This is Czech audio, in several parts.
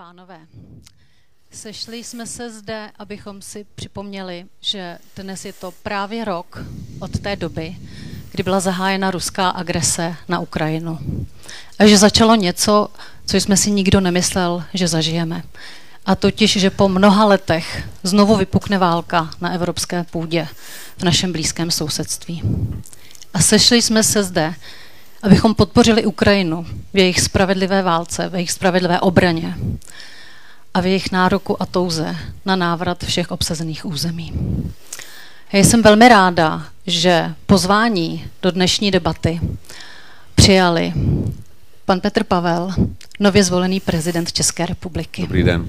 pánové, sešli jsme se zde, abychom si připomněli, že dnes je to právě rok od té doby, kdy byla zahájena ruská agrese na Ukrajinu. A že začalo něco, co jsme si nikdo nemyslel, že zažijeme. A totiž, že po mnoha letech znovu vypukne válka na evropské půdě v našem blízkém sousedství. A sešli jsme se zde, abychom podpořili Ukrajinu v jejich spravedlivé válce, v jejich spravedlivé obraně a v jejich nároku a touze na návrat všech obsazených území. Já jsem velmi ráda, že pozvání do dnešní debaty přijali pan Petr Pavel, nově zvolený prezident České republiky. Dobrý den.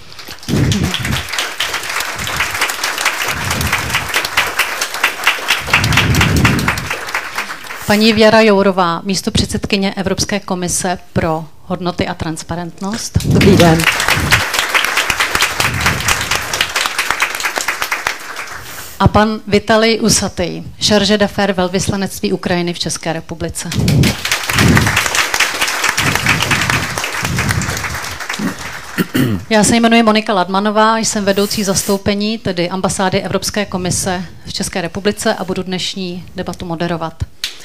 Paní Věra Jourová, místopředsedkyně Evropské komise pro hodnoty a transparentnost. Dobrý den. A pan Vitalij Usatý, chargé d'affaires velvyslanectví Ukrajiny v České republice. Já se jmenuji Monika Ladmanová, jsem vedoucí zastoupení, tedy ambasády Evropské komise v České republice a budu dnešní debatu moderovat.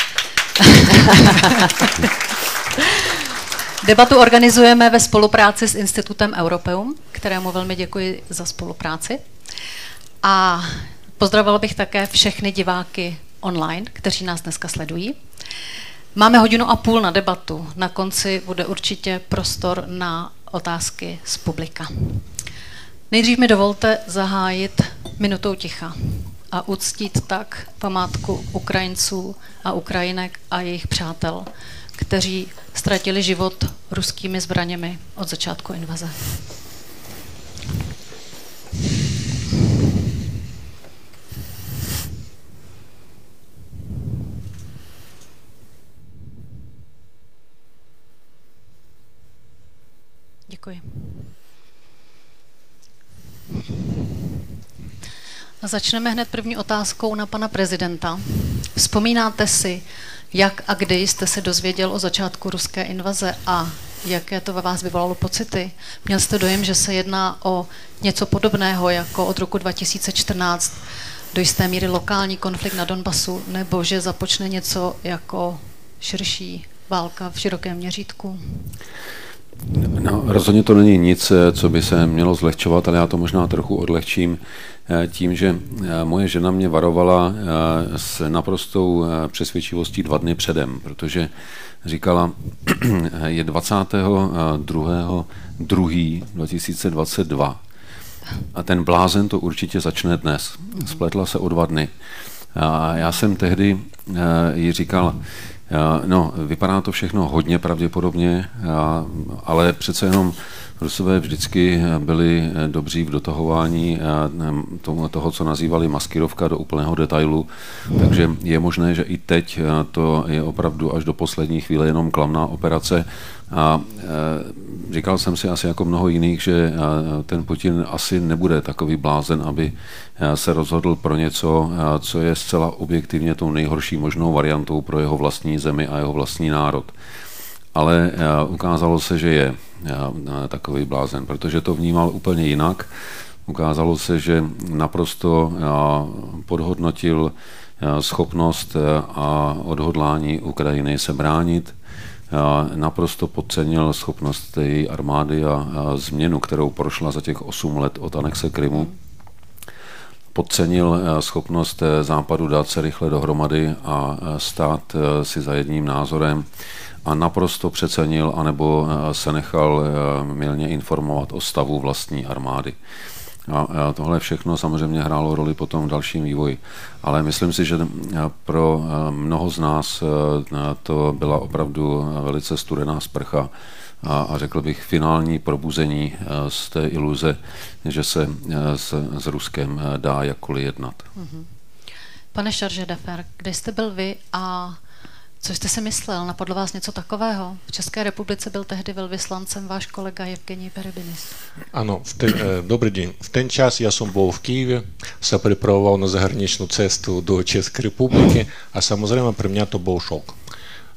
Debatu organizujeme ve spolupráci s Institutem Europeum, kterému velmi děkuji za spolupráci. A pozdravila bych také všechny diváky online, kteří nás dneska sledují. Máme 1,5 hodiny na debatu. Na konci bude určitě prostor na otázky z publika. Nejdřív mi dovolte zahájit minutou ticha a uctít tak památku Ukrajinců a Ukrajinek a jejich přátel, kteří ztratili život ruskými zbraněmi od začátku invaze. Děkuji. A začneme hned první otázkou na pana prezidenta. Vzpomínáte si, jak a kdy jste se dozvěděl o začátku ruské invaze a jaké to ve vás vyvolalo pocity? Měl jste dojem, že se jedná o něco podobného jako od roku 2014 do jisté míry lokální konflikt na Donbasu, nebo že započne něco jako širší válka v širokém měřítku? No, rozhodně to není nic, co by se mělo zlehčovat, ale já to možná trochu odlehčím tím, že moje žena mě varovala s naprostou přesvědčivostí 2 dny předem, protože říkala, je 22.2.2022 a ten blázen to určitě začne dnes. Spletla se o 2 dny. A já jsem tehdy jí říkal, no, vypadá to všechno hodně pravděpodobně, ale přece jenom Rusové vždycky byli dobří v dotahování toho, co nazývali maskirovka do úplného detailu, takže je možné, že i teď to je opravdu až do poslední chvíle jenom klamná operace. A říkal jsem si asi jako mnoho jiných, že ten Putin asi nebude takový blázen, aby se rozhodl pro něco, co je zcela objektivně tou nejhorší možnou variantou pro jeho vlastní zemi a jeho vlastní národ. Ale ukázalo se, že je takový blázen, protože to vnímal úplně jinak. Ukázalo se, že naprosto podhodnotil schopnost a odhodlání Ukrajiny se bránit, naprosto podcenil schopnost její armády a změnu, kterou prošla za těch 8 let od anexe Krymu. Podcenil schopnost Západu dát se rychle dohromady a stát si za jedním názorem a naprosto přecenil anebo se nechal mylně informovat o stavu vlastní armády. A tohle všechno samozřejmě hrálo roli potom v dalším vývoji. Ale myslím si, že pro mnoho z nás to byla opravdu velice studená sprcha a řekl bych finální probuzení z té iluze, že se s Ruskem dá jakkoliv jednat. Pane chargé d'affaires, kde jste byl vy a co jste si myslel? Napadlo vás něco takového? V České republice byl tehdy velvyslancem váš kolega Evgenij Perebinis. Ano, dobrý den. V ten čas já jsem byl v Kyjevě, se připravoval na zahraničnou cestu do České republiky a samozřejmě pro mě to byl šok.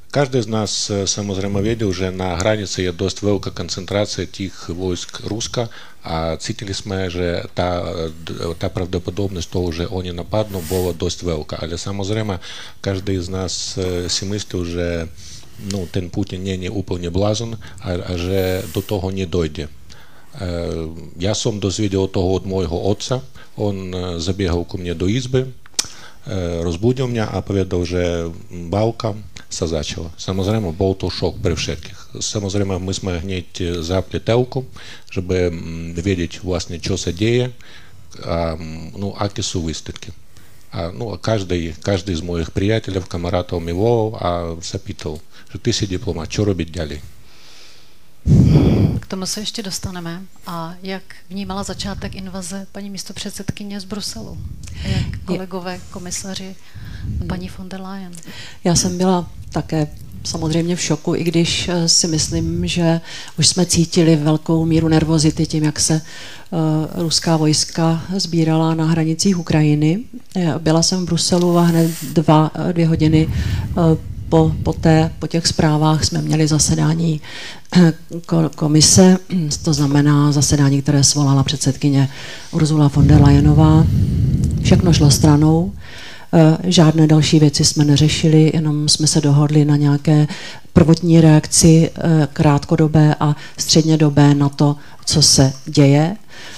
Każdy z nas samozrejme wiedział, że na granicy jest dość wielka koncentracja tych wojsk ruska, a czuliśmy, że ta prawdopodobność того, że oni napadną, była dość wielka, ale samozrejme każdy z nas si myślał, że ten Putin nie zupełnie blazon, a że do tego nie dojdzie. Ja sam dozwiedział tego od mojego ojca. On zabiegał ku mnie do izby, rozbudził mnie, a powiedział, że walka się zaczęła. Samozrejme, był to szok przy wszystkich. Samozrejme, myśmy gnieť zapli telku, żeby wiedzieć właśnie, co się dzieje, jakie są występki. Każdy z moich przyjaciół, kameratów mnie wołał, a zapytał, że ty jsi dyplomat, co robić dalej? K tomu se ještě dostaneme. A jak vnímala začátek invaze paní místopředsedkyně z Bruselu? A jak kolegové komisaři paní von der Leyen? Já jsem byla také samozřejmě v šoku, i když si myslím, že už jsme cítili velkou míru nervozity tím, jak se ruská vojska sbírala na hranicích Ukrajiny. Byla jsem v Bruselu a hned 2 hodiny po těch zprávách jsme měli zasedání komise, to znamená zasedání, které svolala předsedkyně Ursula von der Leyenová. Všechno šlo stranou, žádné další věci jsme neřešili, jenom jsme se dohodli na nějaké prvotní reakci krátkodobé a střednědobé na to, co se děje.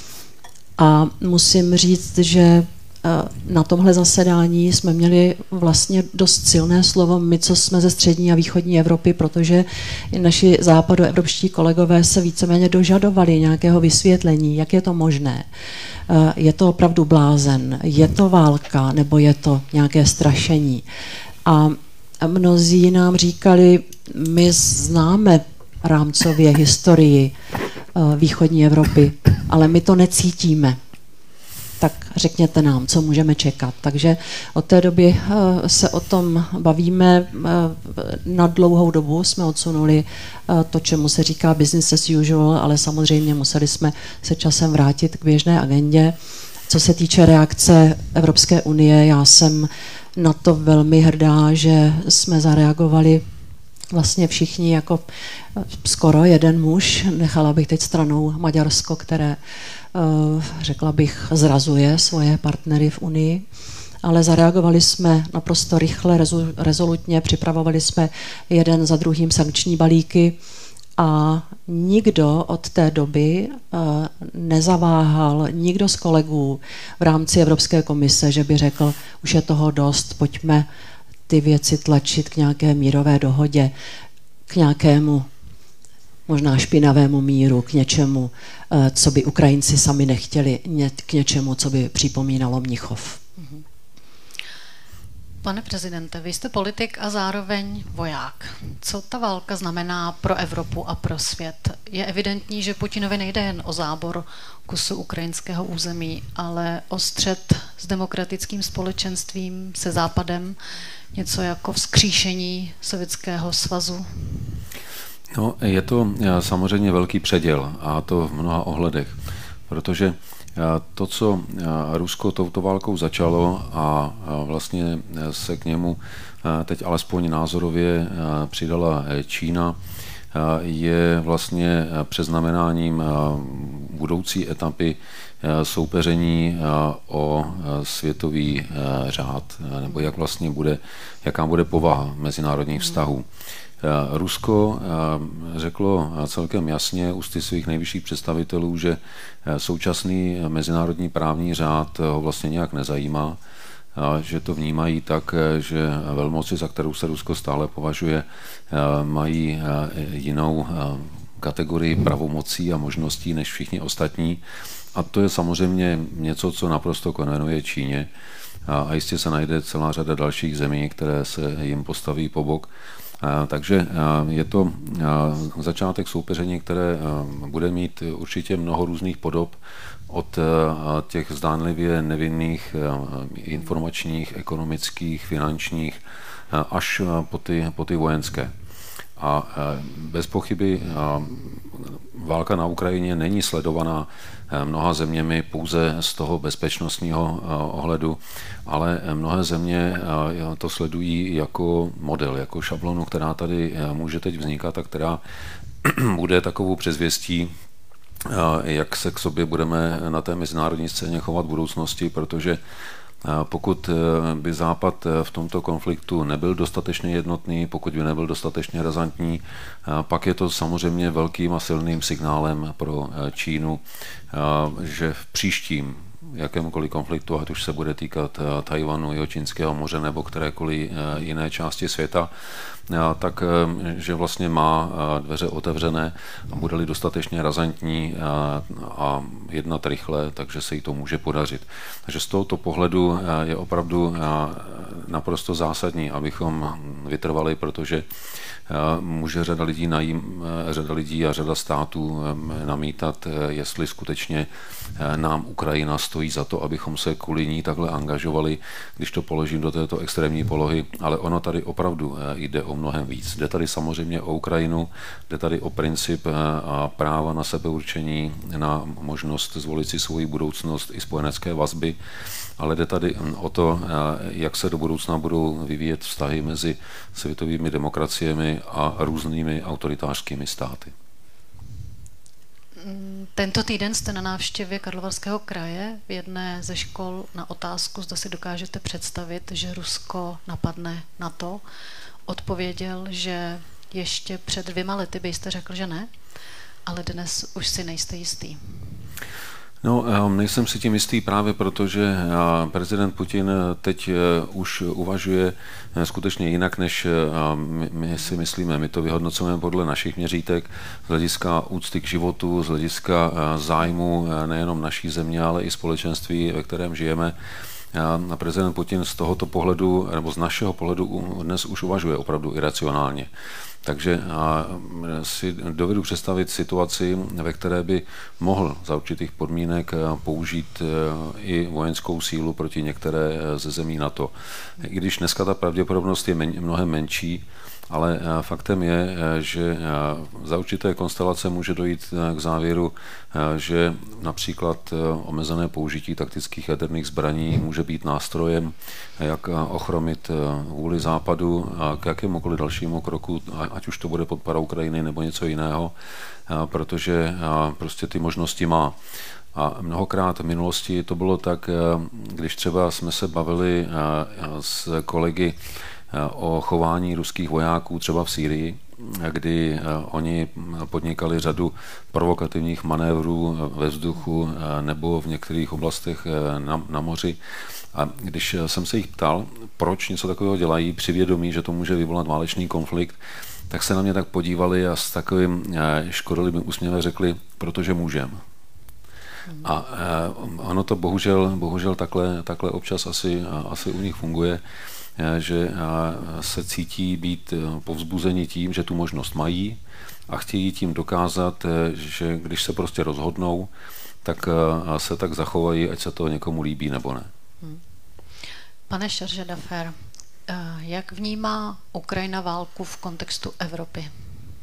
A musím říct, že na tomhle zasedání jsme měli vlastně dost silné slovo my, co jsme ze střední a východní Evropy, protože naši západoevropští kolegové se víceméně dožadovali nějakého vysvětlení, jak je to možné. Je to opravdu blázen, je to válka, nebo je to nějaké strašení. A mnozí nám říkali, my známe rámcově historii východní Evropy, ale my to necítíme. Tak řekněte nám, co můžeme čekat. Takže od té doby se o tom bavíme. Na dlouhou dobu jsme odsunuli to, čemu se říká business as usual, ale samozřejmě museli jsme se časem vrátit k běžné agendě. Co se týče reakce Evropské unie, já jsem na to velmi hrdá, že jsme zareagovali vlastně všichni jako skoro jeden muž. Nechala bych teď stranou Maďarsko, které řekla bych, zrazuje svoje partnery v Unii, ale zareagovali jsme naprosto rychle, rezolutně, připravovali jsme jeden za druhým sankční balíky a nikdo od té doby nezaváhal, nikdo z kolegů v rámci Evropské komise, že by řekl, už je toho dost, pojďme ty věci tlačit k nějaké mírové dohodě, k nějakému možná špinavému míru, k něčemu, co by Ukrajinci sami nechtěli, k něčemu, co by připomínalo Mnichov. Pane prezidente, vy jste politik a zároveň voják. Co ta válka znamená pro Evropu a pro svět? Je evidentní, že Putinovi nejde jen o zábor kusu ukrajinského území, ale o střet s demokratickým společenstvím, se Západem, něco jako vzkříšení Sovětského svazu? No, je to samozřejmě velký předěl, a to v mnoha ohledech, protože to, co Rusko touto válkou začalo a vlastně se k němu teď alespoň názorově přidala Čína, je vlastně přeznamenáním budoucí etapy soupeření o světový řád, nebo jak vlastně jaká bude povaha mezinárodních vztahů. Rusko řeklo celkem jasně ústy svých nejvyšších představitelů, že současný mezinárodní právní řád ho vlastně nějak nezajímá, že to vnímají tak, že velmoci, za kterou se Rusko stále považuje, mají jinou kategorii pravomocí a možností než všichni ostatní. A to je samozřejmě něco, co naprosto konvenuje Číně. A jistě se najde celá řada dalších zemí, které se jim postaví po bok. Takže je to začátek soupeření, které bude mít určitě mnoho různých podob, od těch zdánlivě nevinných informačních, ekonomických, finančních, až po ty vojenské. A bez pochyby válka na Ukrajině není sledovaná mnoha zeměmi pouze z toho bezpečnostního ohledu, ale mnohé země to sledují jako model, jako šablonu, která tady může teď vznikat a která bude takovou předzvěstí, jak se k sobě budeme na té mezinárodní scéně chovat v budoucnosti, protože pokud by Západ v tomto konfliktu nebyl dostatečně jednotný, pokud by nebyl dostatečně razantní, pak je to samozřejmě velkým a silným signálem pro Čínu, že v příštím jakémukoliv konfliktu, ať už se bude týkat Tajvanu, Jihočínského moře nebo kterékoliv jiné části světa, tak že vlastně má dveře otevřené a bude-li dostatečně razantní a jednat rychle, takže se jí to může podařit. Takže z tohoto pohledu je opravdu naprosto zásadní, abychom vytrvali, protože může řada lidí a řada států namítat, jestli skutečně nám Ukrajina stojí za to, abychom se kvůli ní takhle angažovali, když to položím do této extrémní polohy, ale ono tady opravdu jde o mnohem víc. Jde tady samozřejmě o Ukrajinu, jde tady o princip a práva na sebeurčení, na možnost zvolit si svoji budoucnost i spojenecké vazby, ale jde tady o to, jak se do budoucna budou vyvíjet vztahy mezi světovými demokraciemi a různými autoritářskými státy. Tento týden jste na návštěvě Karlovarského kraje v jedné ze škol na otázku, zda si dokážete představit, že Rusko napadne NATO. Odpověděl, že ještě před 2 lety byste řekl, že ne, ale dnes už si nejste jistý. No, nejsem si tím jistý právě proto, že prezident Putin teď už uvažuje skutečně jinak, než my si myslíme. My to vyhodnocujeme podle našich měřítek, z hlediska úcty k životu, z hlediska zájmu nejenom naší země, ale i společenství, ve kterém žijeme. A prezident Putin z tohoto pohledu, nebo z našeho pohledu dnes už uvažuje opravdu iracionálně. Takže si dovedu představit situaci, ve které by mohl za určitých podmínek použít i vojenskou sílu proti některé ze zemí NATO. I když dneska ta pravděpodobnost je mnohem menší, ale faktem je, že za určité konstelace může dojít k závěru, že například omezené použití taktických jaderných zbraní může být nástrojem, jak ochromit vůli Západu k jakémukoliv dalšímu kroku, ať už to bude podpora Ukrajiny nebo něco jiného, protože prostě ty možnosti má. A mnohokrát v minulosti to bylo tak, když třeba jsme se bavili s kolegy o chování ruských vojáků třeba v Sýrii, kdy oni podnikali řadu provokativních manévrů ve vzduchu nebo v některých oblastech na moři. A když jsem se jich ptal, proč něco takového dělají, při vědomí, že to může vyvolat válečný konflikt, tak se na mě tak podívali a s takovým škodolibým úsměvem řekli, protože můžem. A ono to bohužel takhle občas asi u nich funguje, že se cítí být povzbuzeni tím, že tu možnost mají a chtějí tím dokázat, že když se prostě rozhodnou, tak se tak zachovají, ať se to někomu líbí nebo ne. Pane Šaržedafer, jak vnímá Ukrajina válku v kontextu Evropy?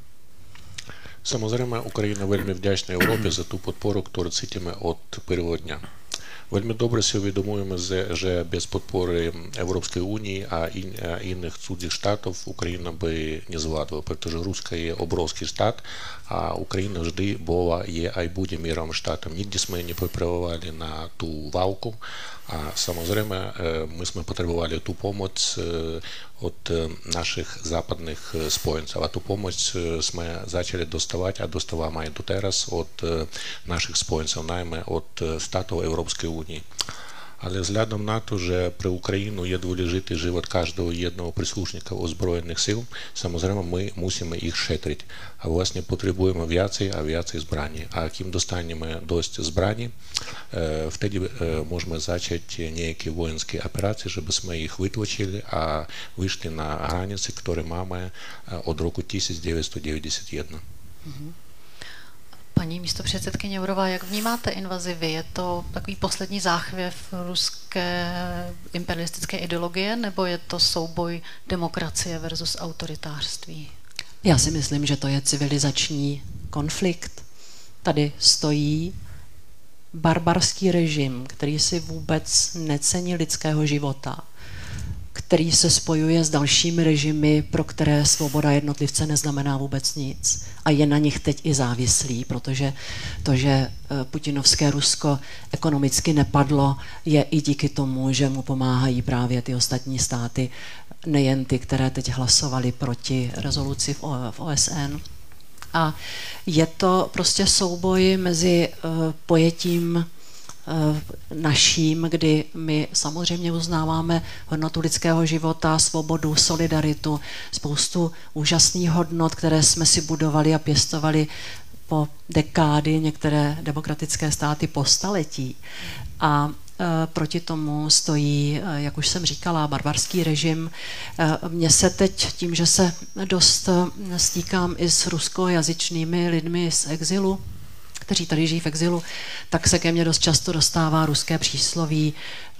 Samozrejme, Україна вельми вдячна Європі за ту підпору, яку цитимо від першого дня. Вельми добре си усвідомуємо, що без підпори Європейської Унії, а інших цудзіх штатів Україна би не звладала, тому Руська є обровський штат, а Україна завжди була, є, а й буде міровим штатом. Нігде ми не попривали на ту валку, a samozřejmě my jsme potřebovali tu pomoc od našich západních spojenců a tu pomoc jsme začali dostávat a dostáváme i doteraz od našich spojenců, najmä od států Evropské unie. Ale vzhledem na to, že pro Ukrajinu je důležitý život každého jednoho příslušníka ozbrojených sil, samozřejmě my musíme jich šetřit. A vlastně potřebujeme více a více zbraní. A kým dostaneme dost zbraní, vtedy můžeme začít nějaké vojenské operace, żeby jsme jich vytlačili a vyšli na hranice, které máme od roku 1991. Paní místopředsedkyně Jourová, jak vnímáte invazi vy? Je to takový poslední záchvěv ruské imperialistické ideologie, nebo je to souboj demokracie versus autoritářství? Já si myslím, že to je civilizační konflikt. Tady stojí barbarský režim, který si vůbec necení lidského života, který se spojuje s dalšími režimy, pro které svoboda jednotlivce neznamená vůbec nic. A je na nich teď i závislý, protože to, že putinovské Rusko ekonomicky nepadlo, je i díky tomu, že mu pomáhají právě ty ostatní státy, nejen ty, které teď hlasovaly proti rezoluci v OSN. A je to prostě souboj mezi pojetím naším, kdy my samozřejmě uznáváme hodnotu lidského života, svobodu, solidaritu, spoustu úžasných hodnot, které jsme si budovali a pěstovali po dekády, některé demokratické státy po staletí. A proti tomu stojí, jak už jsem říkala, barbarský režim. Mně se teď tím, že se dost stýkám i s ruskojazyčnými lidmi z exilu, kteří tady žijí v exilu, tak se ke mně dost často dostává ruské přísloví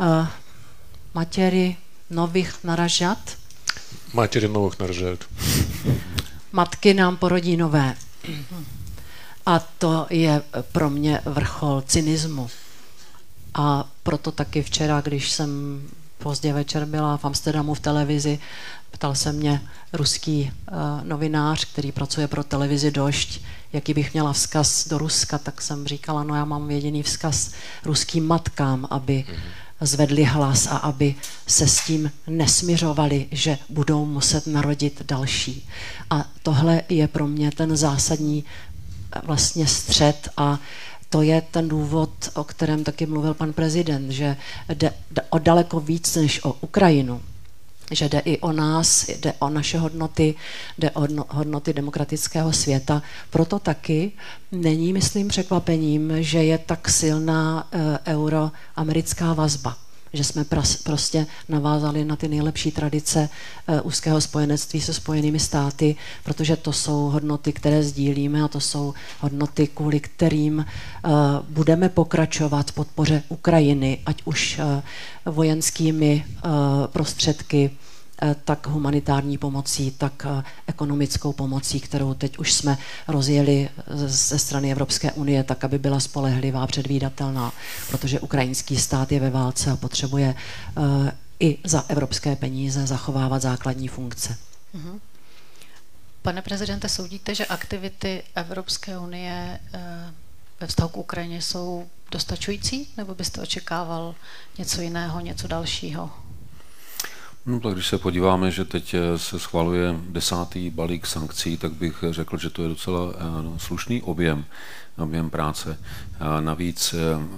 matěry nových naražat. Matěry nových naražat. Matky nám porodí nové. A to je pro mě vrchol cynismu. A proto taky včera, když jsem pozdě večer byla v Amsterdamu v televizi, ptal se mě ruský novinář, který pracuje pro televizi Došť, jaký bych měla vzkaz do Ruska, tak jsem říkala, no já mám jediný vzkaz ruským matkám, aby zvedli hlas a aby se s tím nesmiřovali, že budou muset narodit další. A tohle je pro mě ten zásadní vlastně střet a to je ten důvod, o kterém taky mluvil pan prezident, že jde o daleko víc než o Ukrajinu, že jde i o nás, jde o naše hodnoty, jde o hodnoty demokratického světa. Proto taky není, myslím, překvapením, že je tak silná euroamerická vazba, že jsme prostě navázali na ty nejlepší tradice úzkého spojenectví se Spojenými státy, protože to jsou hodnoty, které sdílíme a to jsou hodnoty, kvůli kterým budeme pokračovat v podpoře Ukrajiny, ať už vojenskými prostředky, tak humanitární pomocí, tak ekonomickou pomocí, kterou teď už jsme rozjeli ze strany Evropské unie, tak, aby byla spolehlivá, předvídatelná, protože ukrajinský stát je ve válce a potřebuje i za evropské peníze zachovávat základní funkce. Pane prezidente, soudíte, že aktivity Evropské unie ve vztahu k Ukrajině jsou dostačující, nebo byste očekával něco jiného, něco dalšího? No tak když se podíváme, že teď se schvaluje 10. balík sankcí, tak bych řekl, že to je docela slušný objem práce. Navíc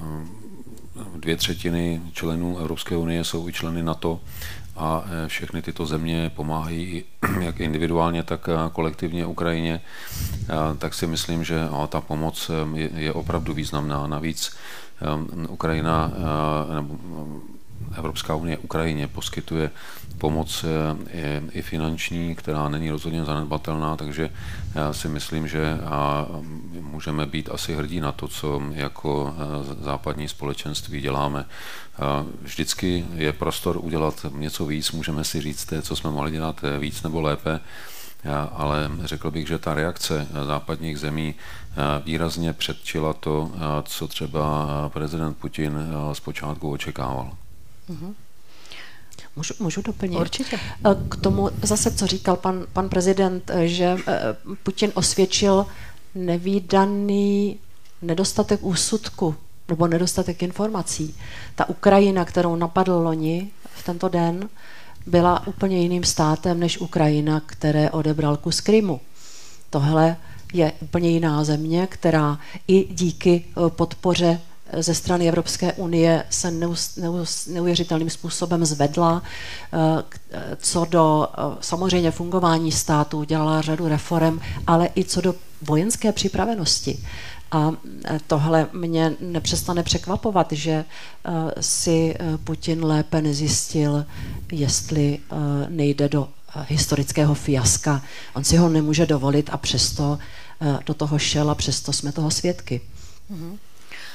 2/3 členů Evropské unie jsou i členy NATO a všechny tyto země pomáhají jak individuálně, tak kolektivně Ukrajině, tak si myslím, že ta pomoc je opravdu významná. Navíc Ukrajina nebo Evropská unie Ukrajině poskytuje pomoc i finanční, která není rozhodně zanedbatelná, takže já si myslím, že můžeme být asi hrdí na to, co jako západní společenství děláme. Vždycky je prostor udělat něco víc, můžeme si říct, co jsme mohli dělat víc nebo lépe, ale řekl bych, že ta reakce západních zemí výrazně předčila to, co třeba prezident Putin zpočátku očekával. Můžu doplnit? Určitě. K tomu zase, co říkal pan prezident, že Putin osvědčil nevídaný nedostatek úsudku nebo nedostatek informací. Ta Ukrajina, kterou napadl loni v tento den, byla úplně jiným státem než Ukrajina, které odebral kus Krymu. Tohle je úplně jiná země, která i díky podpoře ze strany Evropské unie se neuvěřitelným způsobem zvedla. Co do samozřejmě fungování státu, dělala řadu reforem, ale i co do vojenské připravenosti. A tohle mě nepřestane překvapovat, že si Putin lépe nezjistil, jestli nejde do historického fiaska. On si ho nemůže dovolit a přesto do toho šel a přesto jsme toho svědky.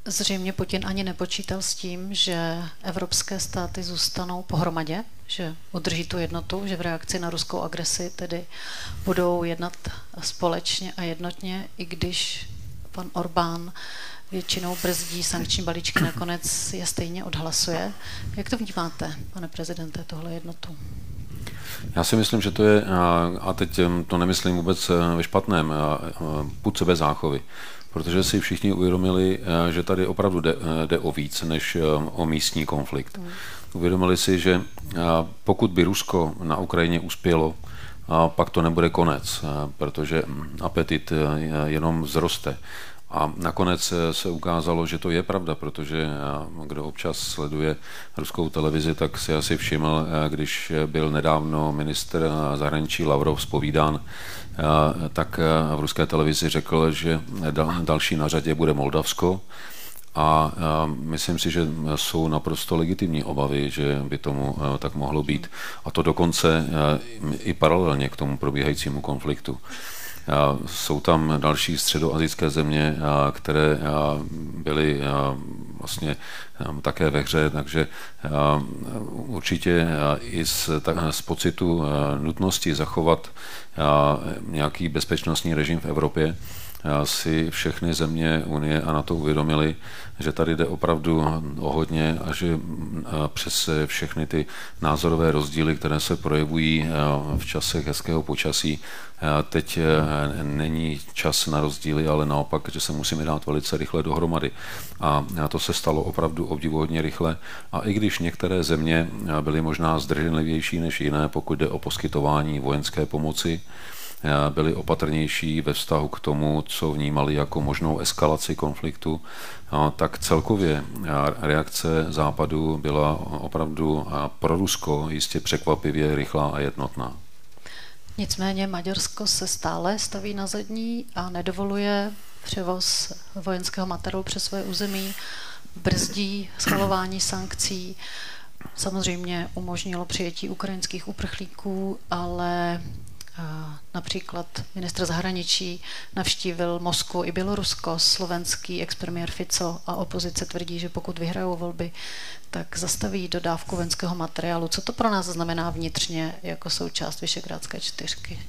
Zřejmě Putin ani nepočítal s tím, že evropské státy zůstanou pohromadě, že udrží tu jednotu, že v reakci na ruskou agresi tedy budou jednat společně a jednotně, i když pan Orbán většinou brzdí sankční balíčky, nakonec je stejně odhlasuje. Jak to vnímáte, pane prezidente, tohle jednotu? Já si myslím, že to je, a teď to nemyslím vůbec ve špatném, pud sebezáchovy, protože si všichni uvědomili, že tady opravdu jde o víc než o místní konflikt. Uvědomili si, že pokud by Rusko na Ukrajině uspělo, pak to nebude konec, protože apetit jenom vzroste. A nakonec se ukázalo, že to je pravda, protože kdo občas sleduje ruskou televizi, tak si asi všiml, když byl nedávno ministr zahraničí Lavrov zpovídán, tak v ruské televizi řekl, že další na řadě bude Moldavsko. A myslím si, že jsou naprosto legitimní obavy, že by tomu tak mohlo být. A to dokonce i paralelně k tomu probíhajícímu konfliktu. Jsou tam další středoasijské země, které byly vlastně také ve hře, takže určitě i z pocitu nutnosti zachovat nějaký bezpečnostní režim v Evropě si všechny země Unie a NATO uvědomili, že tady jde opravdu o hodně a že přes všechny ty názorové rozdíly, které se projevují v časech hezkého počasí, teď není čas na rozdíly, ale naopak, že se musíme dát velice rychle dohromady. A to se stalo opravdu obdivuhodně rychle. A i když některé země byly možná zdrženlivější než jiné, pokud jde o poskytování vojenské pomoci, byli opatrnější ve vztahu k tomu, co vnímali jako možnou eskalaci konfliktu, tak celkově reakce Západu byla opravdu pro Rusko jistě překvapivě rychlá a jednotná. Nicméně Maďarsko se stále staví na zadní a nedovoluje převoz vojenského materiálu přes své území, brzdí schvalování sankcí, samozřejmě umožnilo přijetí ukrajinských uprchlíků, ale například ministr zahraničí navštívil Moskvu i Bělorusko, slovenský expremiér Fico a opozice tvrdí, že pokud vyhrajou volby, tak zastaví dodávku vojenského materiálu. Co to pro nás znamená vnitřně jako součást Visegrádské čtyřky?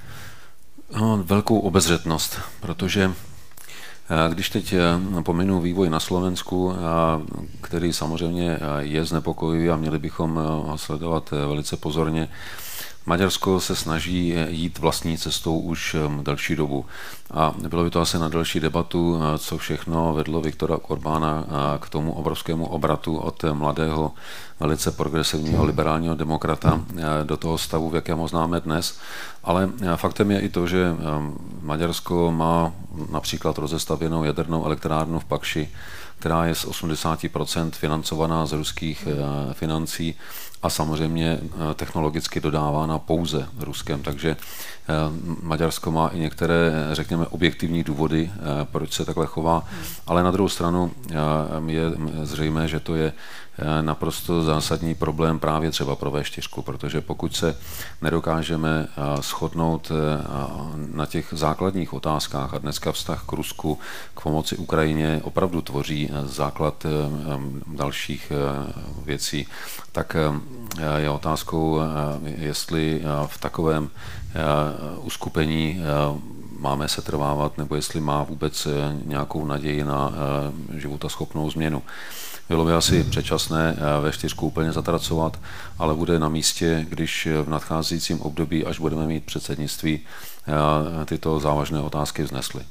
Velkou obezřetnost, protože když teď pominu vývoj na Slovensku, který samozřejmě je znepokojivý a měli bychom ho sledovat velice pozorně, Maďarsko se snaží jít vlastní cestou už delší dobu. A bylo by to asi na delší debatu, co všechno vedlo Viktora Orbána k tomu obrovskému obratu od mladého, velice progresivního liberálního demokrata do toho stavu, v jakém ho známe dnes. Ale faktem je i to, že Maďarsko má například rozestavěnou jadernou elektrárnu v Pakši, která je z 80% financovaná z ruských financí a samozřejmě technologicky dodávána pouze Ruskem. Takže Maďarsko má i některé, řekněme, objektivní důvody, proč se takhle chová, ale na druhou stranu je zřejmé, že to je naprosto zásadní problém právě třeba pro V4, protože pokud se nedokážeme shodnout na těch základních otázkách a dneska vztah k Rusku, k pomoci Ukrajině opravdu tvoří základ dalších věcí, tak je otázkou, jestli v takovém uskupení máme se trvávat, nebo jestli má vůbec nějakou naději na životaschopnou změnu. Bylo by asi předčasné V4 úplně zatracovat, ale bude na místě, když v nadcházejícím období, až budeme mít předsednictví, tyto závažné otázky vznesly.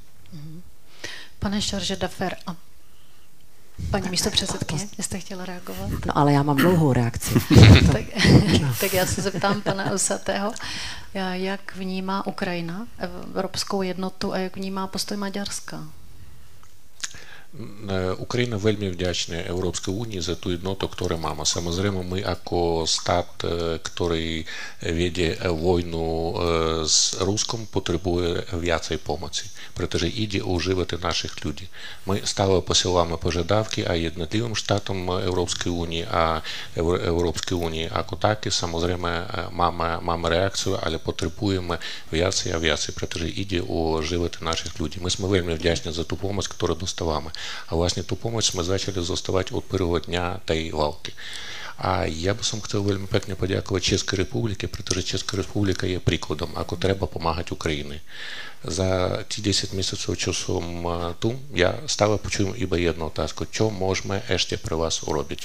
Pane Charge d'Affaires, a paní místopředsedkyně, jste chtěla reagovat? No ale já mám dlouhou reakci. tak já se zeptám pana Usatého, jak vnímá Ukrajina evropskou jednotu a jak vnímá postoj Maďarska? Україна вельми вдячна Європейській Унії за ту єдноту, яку маємо. Samozrejme, my ako stát, ktorý vedie vojnu s Ruskom, potrebuje viacej pomoci, pretože ide o životy našich ľudí. My stále posielame požiadavky aj jednotlivým štátom Európskej únie a Európskej únie ako také. Samozrejme, máme reakciu, ale potrebujeme viacej a viacej, pretože ide o životy našich ľudí. My sme veľmi vďační za tú pomoc, ktorú dostávame. A vlastně tu pomoc jsme začali dostávat od prvního dňa té války. A я би сам хотів veľmi pekne подякувати Českej republike, pretože Česká republika je príkladom, ako treba pomáhať Ukrajine. Za tí 10 mesiacov, čo som tu, ja stále počujem iba jednu otázku. Čo môžeme ešte pre vás urobiť?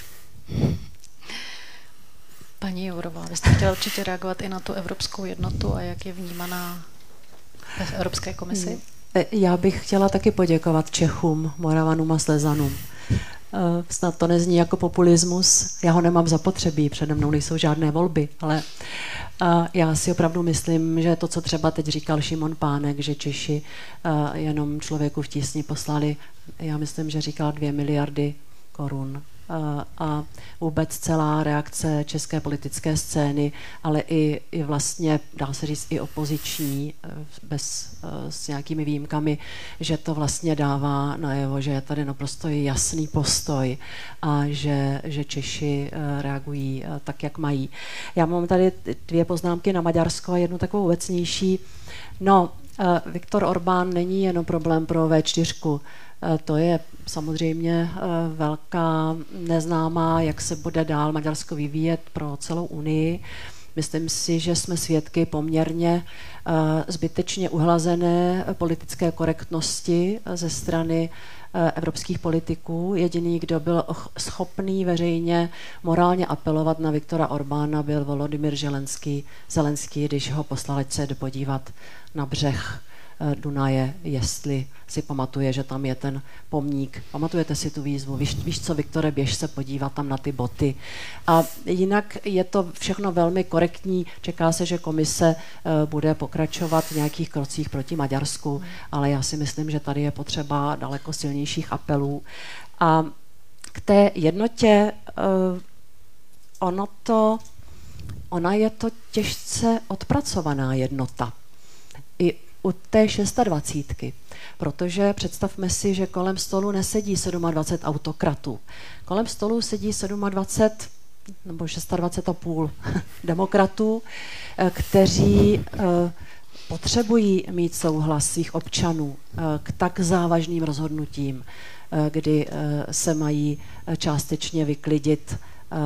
Paní Jourová, vy jste chtěla určitě reagovat i na tu evropskou jednotu a jak je vnímaná v Evropské komisi? Já bych chtěla taky poděkovat Čechům, Moravanům a Slezanům. Snad to nezní jako populismus, já ho nemám zapotřebí, přede mnou nejsou žádné volby, ale já si opravdu myslím, že to, co třeba teď říkal Šimon Pánek, že Češi jenom člověku v tísni poslali, já myslím, že říkal 2 miliardy korun. A vůbec celá reakce české politické scény, ale i vlastně, dá se říct, i opoziční, s nějakými výjimkami, že to vlastně dává najevo, že je tady naprosto jasný postoj a že Češi reagují tak, jak mají. Já mám tady 2 poznámky na Maďarsko a jednu takovou obecnější. No, Viktor Orbán není jenom problém pro V4. To je samozřejmě velká neznámá, jak se bude dál Maďarsko vyvíjet pro celou Unii. Myslím si, že jsme svědky poměrně zbytečně uhlazené politické korektnosti ze strany evropských politiků. Jediný, kdo byl schopný veřejně morálně apelovat na Viktora Orbána, byl Volodymyr Zelenský, když ho poslal, ať se podívat na břeh Dunaje, jestli si pamatuje, že tam je ten pomník. Pamatujete si tu výzvu? Víš co, Viktore, běž se podívat tam na ty boty. A jinak je to všechno velmi korektní. Čeká se, že komise bude pokračovat v nějakých krocích proti Maďarsku, ale já si myslím, že tady je potřeba daleko silnějších apelů. A k té jednotě ona je to těžce odpracovaná jednota. I u té 26, protože představme si, že kolem stolu nesedí 27 autokratů. Kolem stolu sedí 27 nebo 26,5 demokratů, kteří potřebují mít souhlas svých občanů k tak závažným rozhodnutím, kdy se mají částečně vyklidit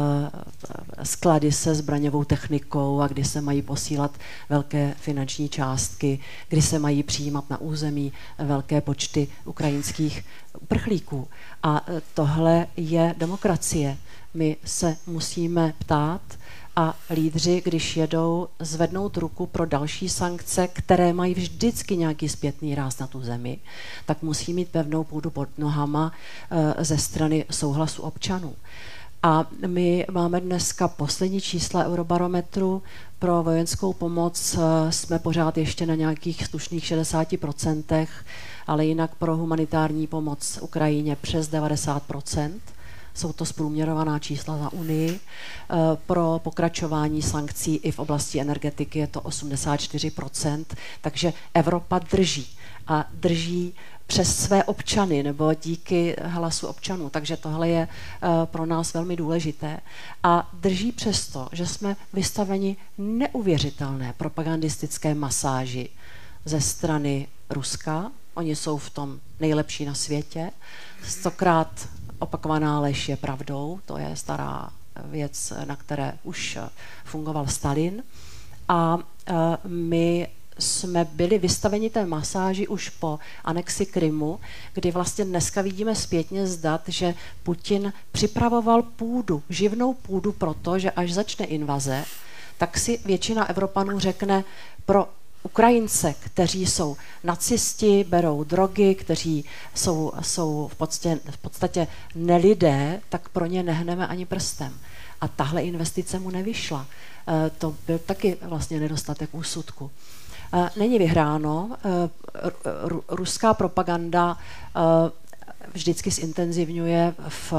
sklady se zbraňovou technikou a kdy se mají posílat velké finanční částky, kdy se mají přijímat na území velké počty ukrajinských uprchlíků. A tohle je demokracie. My se musíme ptát a lídři, když jedou, zvednout ruku pro další sankce, které mají vždycky nějaký zpětný ráz na tu zemi, tak musí mít pevnou půdu pod nohama ze strany souhlasu občanů. A my máme dneska poslední čísla Eurobarometru. Pro vojenskou pomoc jsme pořád ještě na nějakých slušných 60%, ale jinak pro humanitární pomoc Ukrajině přes 90%. Jsou to zprůměrovaná čísla za Unii. Pro pokračování sankcí i v oblasti energetiky je to 84%, takže Evropa drží. A drží přes své občany nebo díky hlasu občanů. Takže tohle je pro nás velmi důležité. A drží přesto, že jsme vystaveni neuvěřitelné propagandistické masáži ze strany Ruska. Oni jsou v tom nejlepší na světě. 100krát opakovaná lež je pravdou. To je stará věc, na které už fungoval Stalin. A my jsme byli vystaveni té masáži už po anexi Krymu, kdy vlastně dneska vidíme zpětně zdat, že Putin připravoval půdu, živnou půdu proto, že až začne invaze, tak si většina Evropanů řekne pro Ukrajince, kteří jsou nacisti, berou drogy, kteří jsou v podstatě nelidé, tak pro ně nehneme ani prstem. A tahle investice mu nevyšla. To byl taky vlastně nedostatek úsudku. Není vyhráno. Ruská propaganda vždycky zintenzivňuje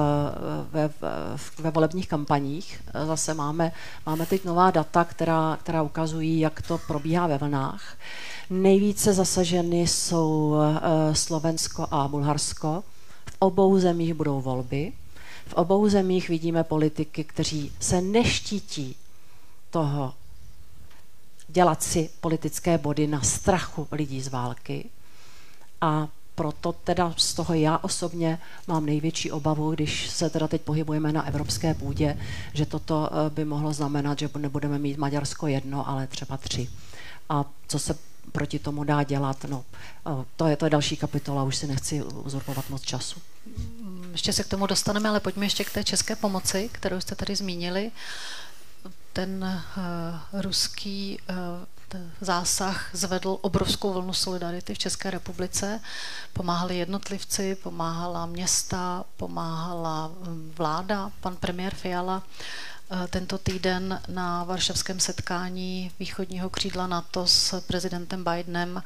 ve volebních kampaních. Zase máme teď nová data, která ukazují, jak to probíhá ve vlnách. Nejvíce zasaženy jsou Slovensko a Bulharsko. V obou zemích budou volby. V obou zemích vidíme politiky, kteří se neštítí toho dělat si politické body na strachu lidí z války. A proto teda z toho já osobně mám největší obavu, když se teda teď pohybujeme na evropské půdě, že toto by mohlo znamenat, že nebudeme mít Maďarsko 1, ale třeba 3. A co se proti tomu dá dělat, no, to je další kapitola, už si nechci uzurpovat moc času. Ještě se k tomu dostaneme, ale pojďme ještě k té české pomoci, kterou jste tady zmínili. Ten ruský zásah zvedl obrovskou vlnu solidarity v České republice. Pomáhali jednotlivci, pomáhala města, pomáhala vláda. Pan premiér Fiala tento týden na varšavském setkání východního křídla NATO s prezidentem Bidenem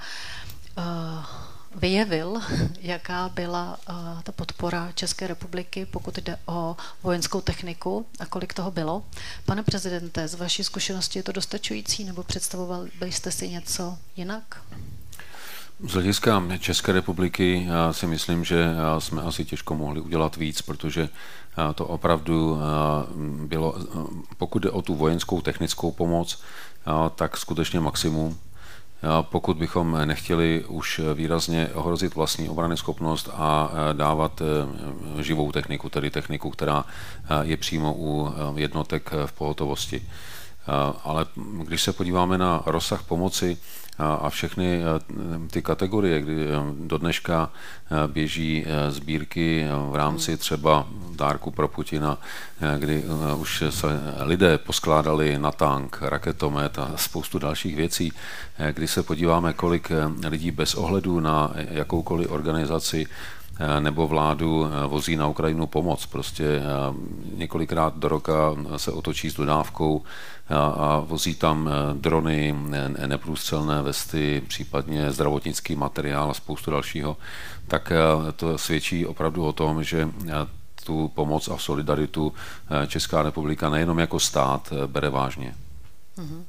vyjevil, jaká byla ta podpora České republiky, pokud jde o vojenskou techniku a kolik toho bylo. Pane prezidente, z vaší zkušenosti je to dostačující, nebo představovali byste si něco jinak? Z hlediska České republiky já si myslím, že jsme asi těžko mohli udělat víc, protože to opravdu bylo, pokud jde o tu vojenskou technickou pomoc, tak skutečně maximum. Pokud bychom nechtěli už výrazně ohrozit vlastní obranyschopnost a dávat živou techniku, tedy techniku, která je přímo u jednotek v pohotovosti. Ale když se podíváme na rozsah pomoci a všechny ty kategorie, kdy do dneška běží sbírky v rámci třeba dárku pro Putina, kdy už se lidé poskládali na tank, raketomet a spoustu dalších věcí, kdy se podíváme, kolik lidí bez ohledu na jakoukoliv organizaci nebo vládu vozí na Ukrajinu pomoc. Prostě několikrát do roka se otočí s dodávkou a vozí tam drony, neprůstřelné vesty, případně zdravotnický materiál a spoustu dalšího. Tak to svědčí opravdu o tom, že tu pomoc a solidaritu Česká republika nejenom jako stát bere vážně. Mm-hmm.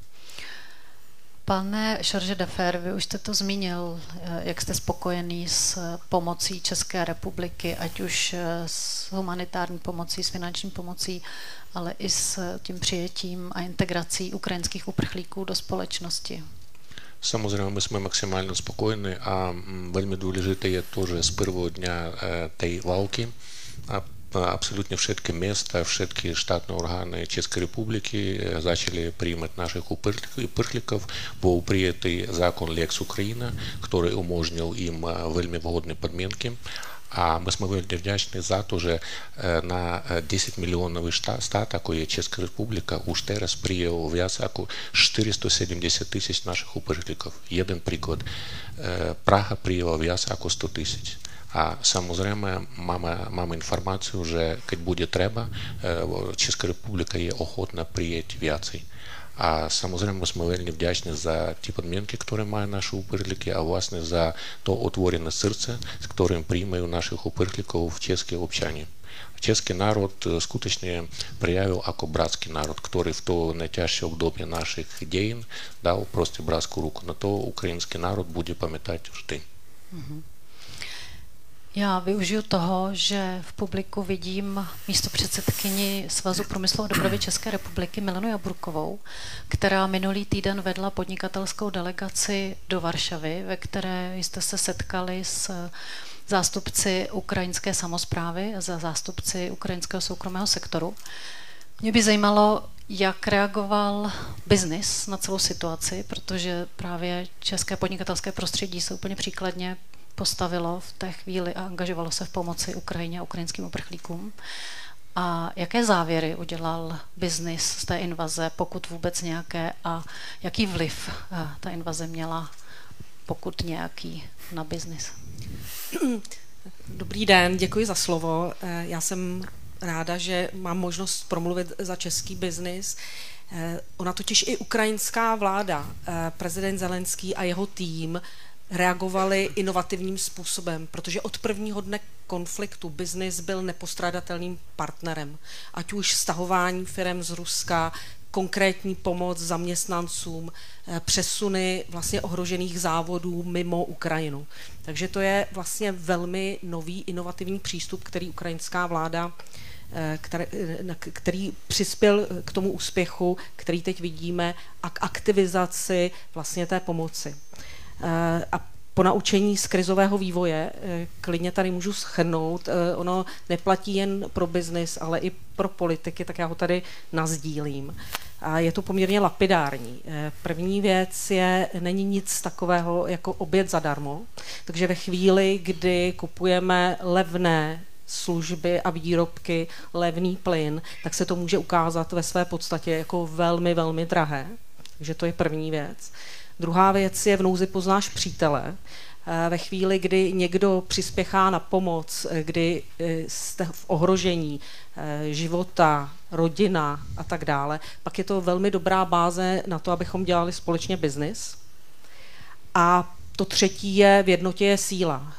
Pane Charge d'Affaires, vy už jste to zmínil, jak jste spokojený s pomocí České republiky, ať už s humanitární pomocí, s finanční pomocí, ale i s tím přijetím a integrací ukrajinských uprchlíků do společnosti. Samozřejmě my jsme maximálně spokojení a velmi důležité je to, že z prvního dňa té války абсолютно všetky места, všetky штатные органы České republiky začali принимать наших uprchlíkov. Был принятый закон Lex Ukraina, который umožnил им veľmi vhodné podmínky. A my jsme velmi vděční za to, že na 10 milionový stát, jako je Česká republika, už teraz přijel víc jako 470 000 našich uprchlíkov. Jeden příklad. Praha přijela víc jako 100 000. A samozřejmě máme informaci, že keď bude třeba, Česká republika je ochotná přijet více. A samozřejmě jsme velmi vděční za ty podmínky, které mají naše uprchlíky a vlastně za to otvorené srdce, s kterým přijímají našich uprchlíků v české občany. Český národ skutečně projevil jako bratský národ, který v to nejtěžší období našich dějin dal prostě bratskou ruku. Na to ukrajinský národ bude pamětat vždy. Mm-hmm. Já využiju toho, že v publiku vidím místopředsedkyni Svazu průmyslu a dopravy České republiky Milenu Jaburkovou, která minulý týden vedla podnikatelskou delegaci do Varšavy, ve které jste se setkali s zástupci ukrajinské samosprávy a zástupci ukrajinského soukromého sektoru. Mě by zajímalo, jak reagoval biznis na celou situaci, protože právě české podnikatelské prostředí se úplně příkladně postavilo v té chvíli a angažovalo se v pomoci Ukrajině a ukrajinským uprchlíkům. A jaké závěry udělal biznis z té invaze, pokud vůbec nějaké, a jaký vliv ta invaze měla, pokud nějaký, na biznis? Dobrý den, děkuji za slovo. Já jsem ráda, že mám možnost promluvit za český biznis. Ona totiž i ukrajinská vláda, prezident Zelenský a jeho tým reagovali inovativním způsobem, protože od prvního dne konfliktu biznis byl nepostradatelným partnerem. Ať už stahování firem z Ruska, konkrétní pomoc zaměstnancům, přesuny vlastně ohrožených závodů mimo Ukrajinu. Takže to je vlastně velmi nový inovativní přístup, který ukrajinská vláda, který přispěl k tomu úspěchu, který teď vidíme, a k aktivizaci vlastně té pomoci. A ponaučení z krizového vývoje, klidně tady můžu shrnout, ono neplatí jen pro biznis, ale i pro politiky, tak já ho tady nasdílím. A je to poměrně lapidární. První věc není nic takového jako oběd zadarmo, takže ve chvíli, kdy kupujeme levné služby a výrobky, levný plyn, tak se to může ukázat ve své podstatě jako velmi, velmi drahé. Takže to je první věc. Druhá věc je v nouzi poznáš přítele. Ve chvíli, kdy někdo přispěchá na pomoc, kdy jste v ohrožení života, rodina a tak dále, pak je to velmi dobrá báze na to, abychom dělali společně biznis. A to třetí je v jednotě je síla.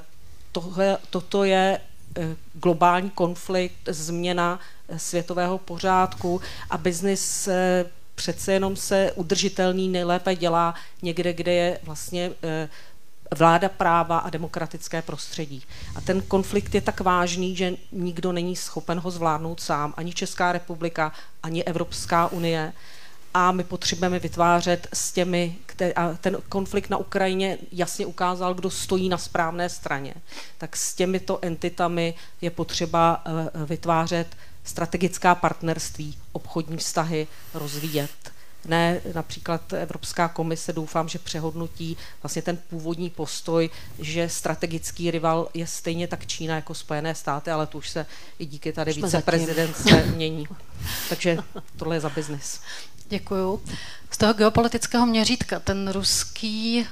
Toto je globální konflikt, změna světového pořádku a biznis přece jenom se udržitelný nejlépe dělá někde, kde je vlastně vláda práva a demokratické prostředí. A ten konflikt je tak vážný, že nikdo není schopen ho zvládnout sám, ani Česká republika, ani Evropská unie. A my potřebujeme vytvářet s těmi, a ten konflikt na Ukrajině jasně ukázal, kdo stojí na správné straně. Tak s těmito entitami je potřeba vytvářet strategická partnerství, obchodní vztahy, rozvíjet. Ne, například Evropská komise, doufám, že přehodnotí vlastně ten původní postoj, že strategický rival je stejně tak Čína jako Spojené státy, ale to už se i díky tady viceprezidentce mění. Takže tohle je za biznis. Děkuju. Z toho geopolitického měřítka ten ruský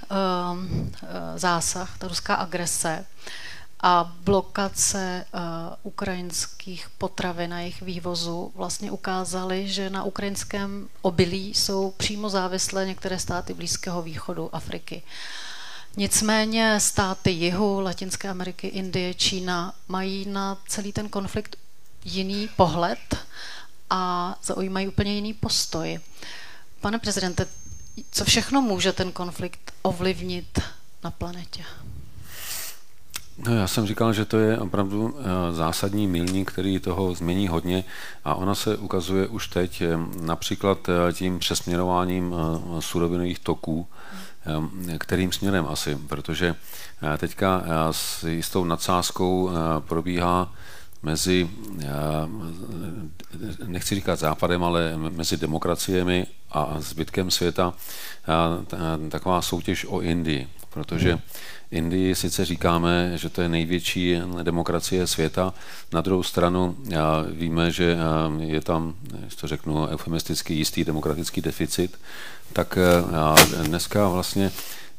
zásah, ta ruská agrese a blokace ukrajinských potravin a jejich vývozu vlastně ukázaly, že na ukrajinském obilí jsou přímo závislé některé státy Blízkého východu, Afriky. Nicméně státy jihu, Latinské Ameriky, Indie, Čína mají na celý ten konflikt jiný pohled a zaujímají úplně jiný postoj. Pane prezidente, co všechno může ten konflikt ovlivnit na planetě? No, já jsem říkal, že to je opravdu zásadní milník, který toho změní hodně a ona se ukazuje už teď například tím přesměrováním surovinových toků, kterým směrem asi, protože teďka s jistou nadsázkou probíhá mezi, nechci říkat západem, ale mezi demokraciemi a zbytkem světa taková soutěž o Indii, protože Indii sice říkáme, že to je největší demokracie světa, na druhou stranu víme, že je tam, když to řeknu eufemisticky, jistý demokratický deficit, tak dneska vlastně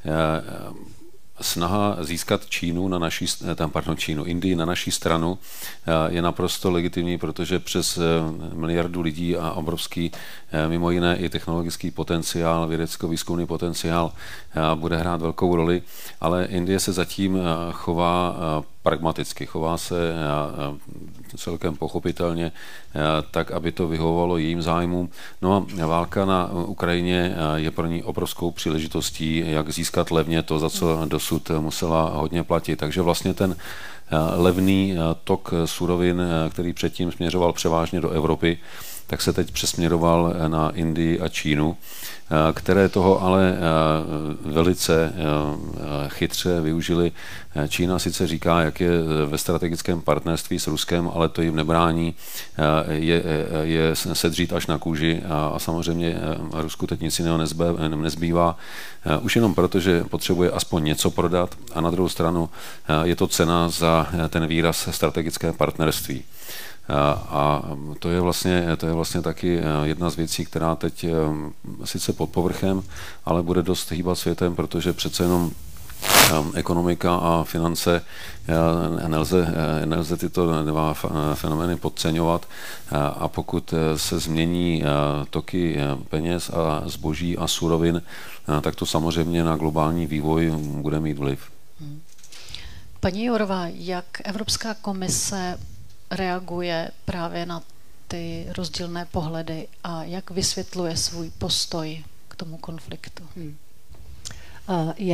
snaha získat Indii na naší stranu je naprosto legitimní, protože přes miliardu lidí a obrovský mimo jiné i technologický potenciál, vědecko-výzkumný potenciál bude hrát velkou roli, ale Indie se zatím chová pragmaticky, chová se celkem pochopitelně tak, aby to vyhovovalo jejím zájmům. No a válka na Ukrajině je pro ní obrovskou příležitostí, jak získat levně to, za co dosud musela hodně platit. Takže vlastně ten levný tok surovin, který předtím směřoval převážně do Evropy, tak se teď přesměroval na Indii a Čínu, které toho ale velice chytře využili. Čína sice říká, jak je ve strategickém partnerství s Ruskem, ale to jim nebrání je sedřít až na kůži a samozřejmě Rusku teď nic jiného nezbývá. Už jenom proto, že potřebuje aspoň něco prodat a na druhou stranu je to cena za ten výraz strategické partnerství. A to je vlastně taky jedna z věcí, která teď sice pod povrchem, ale bude dost hýbat světem, protože přece jenom ekonomika a finance nelze tyto dva fenomény podceňovat a pokud se změní toky peněz a zboží a surovin, tak to samozřejmě na globální vývoj bude mít vliv. Paní Jourová, jak Evropská komise reaguje právě na ty rozdílné pohledy a jak vysvětluje svůj postoj k tomu konfliktu?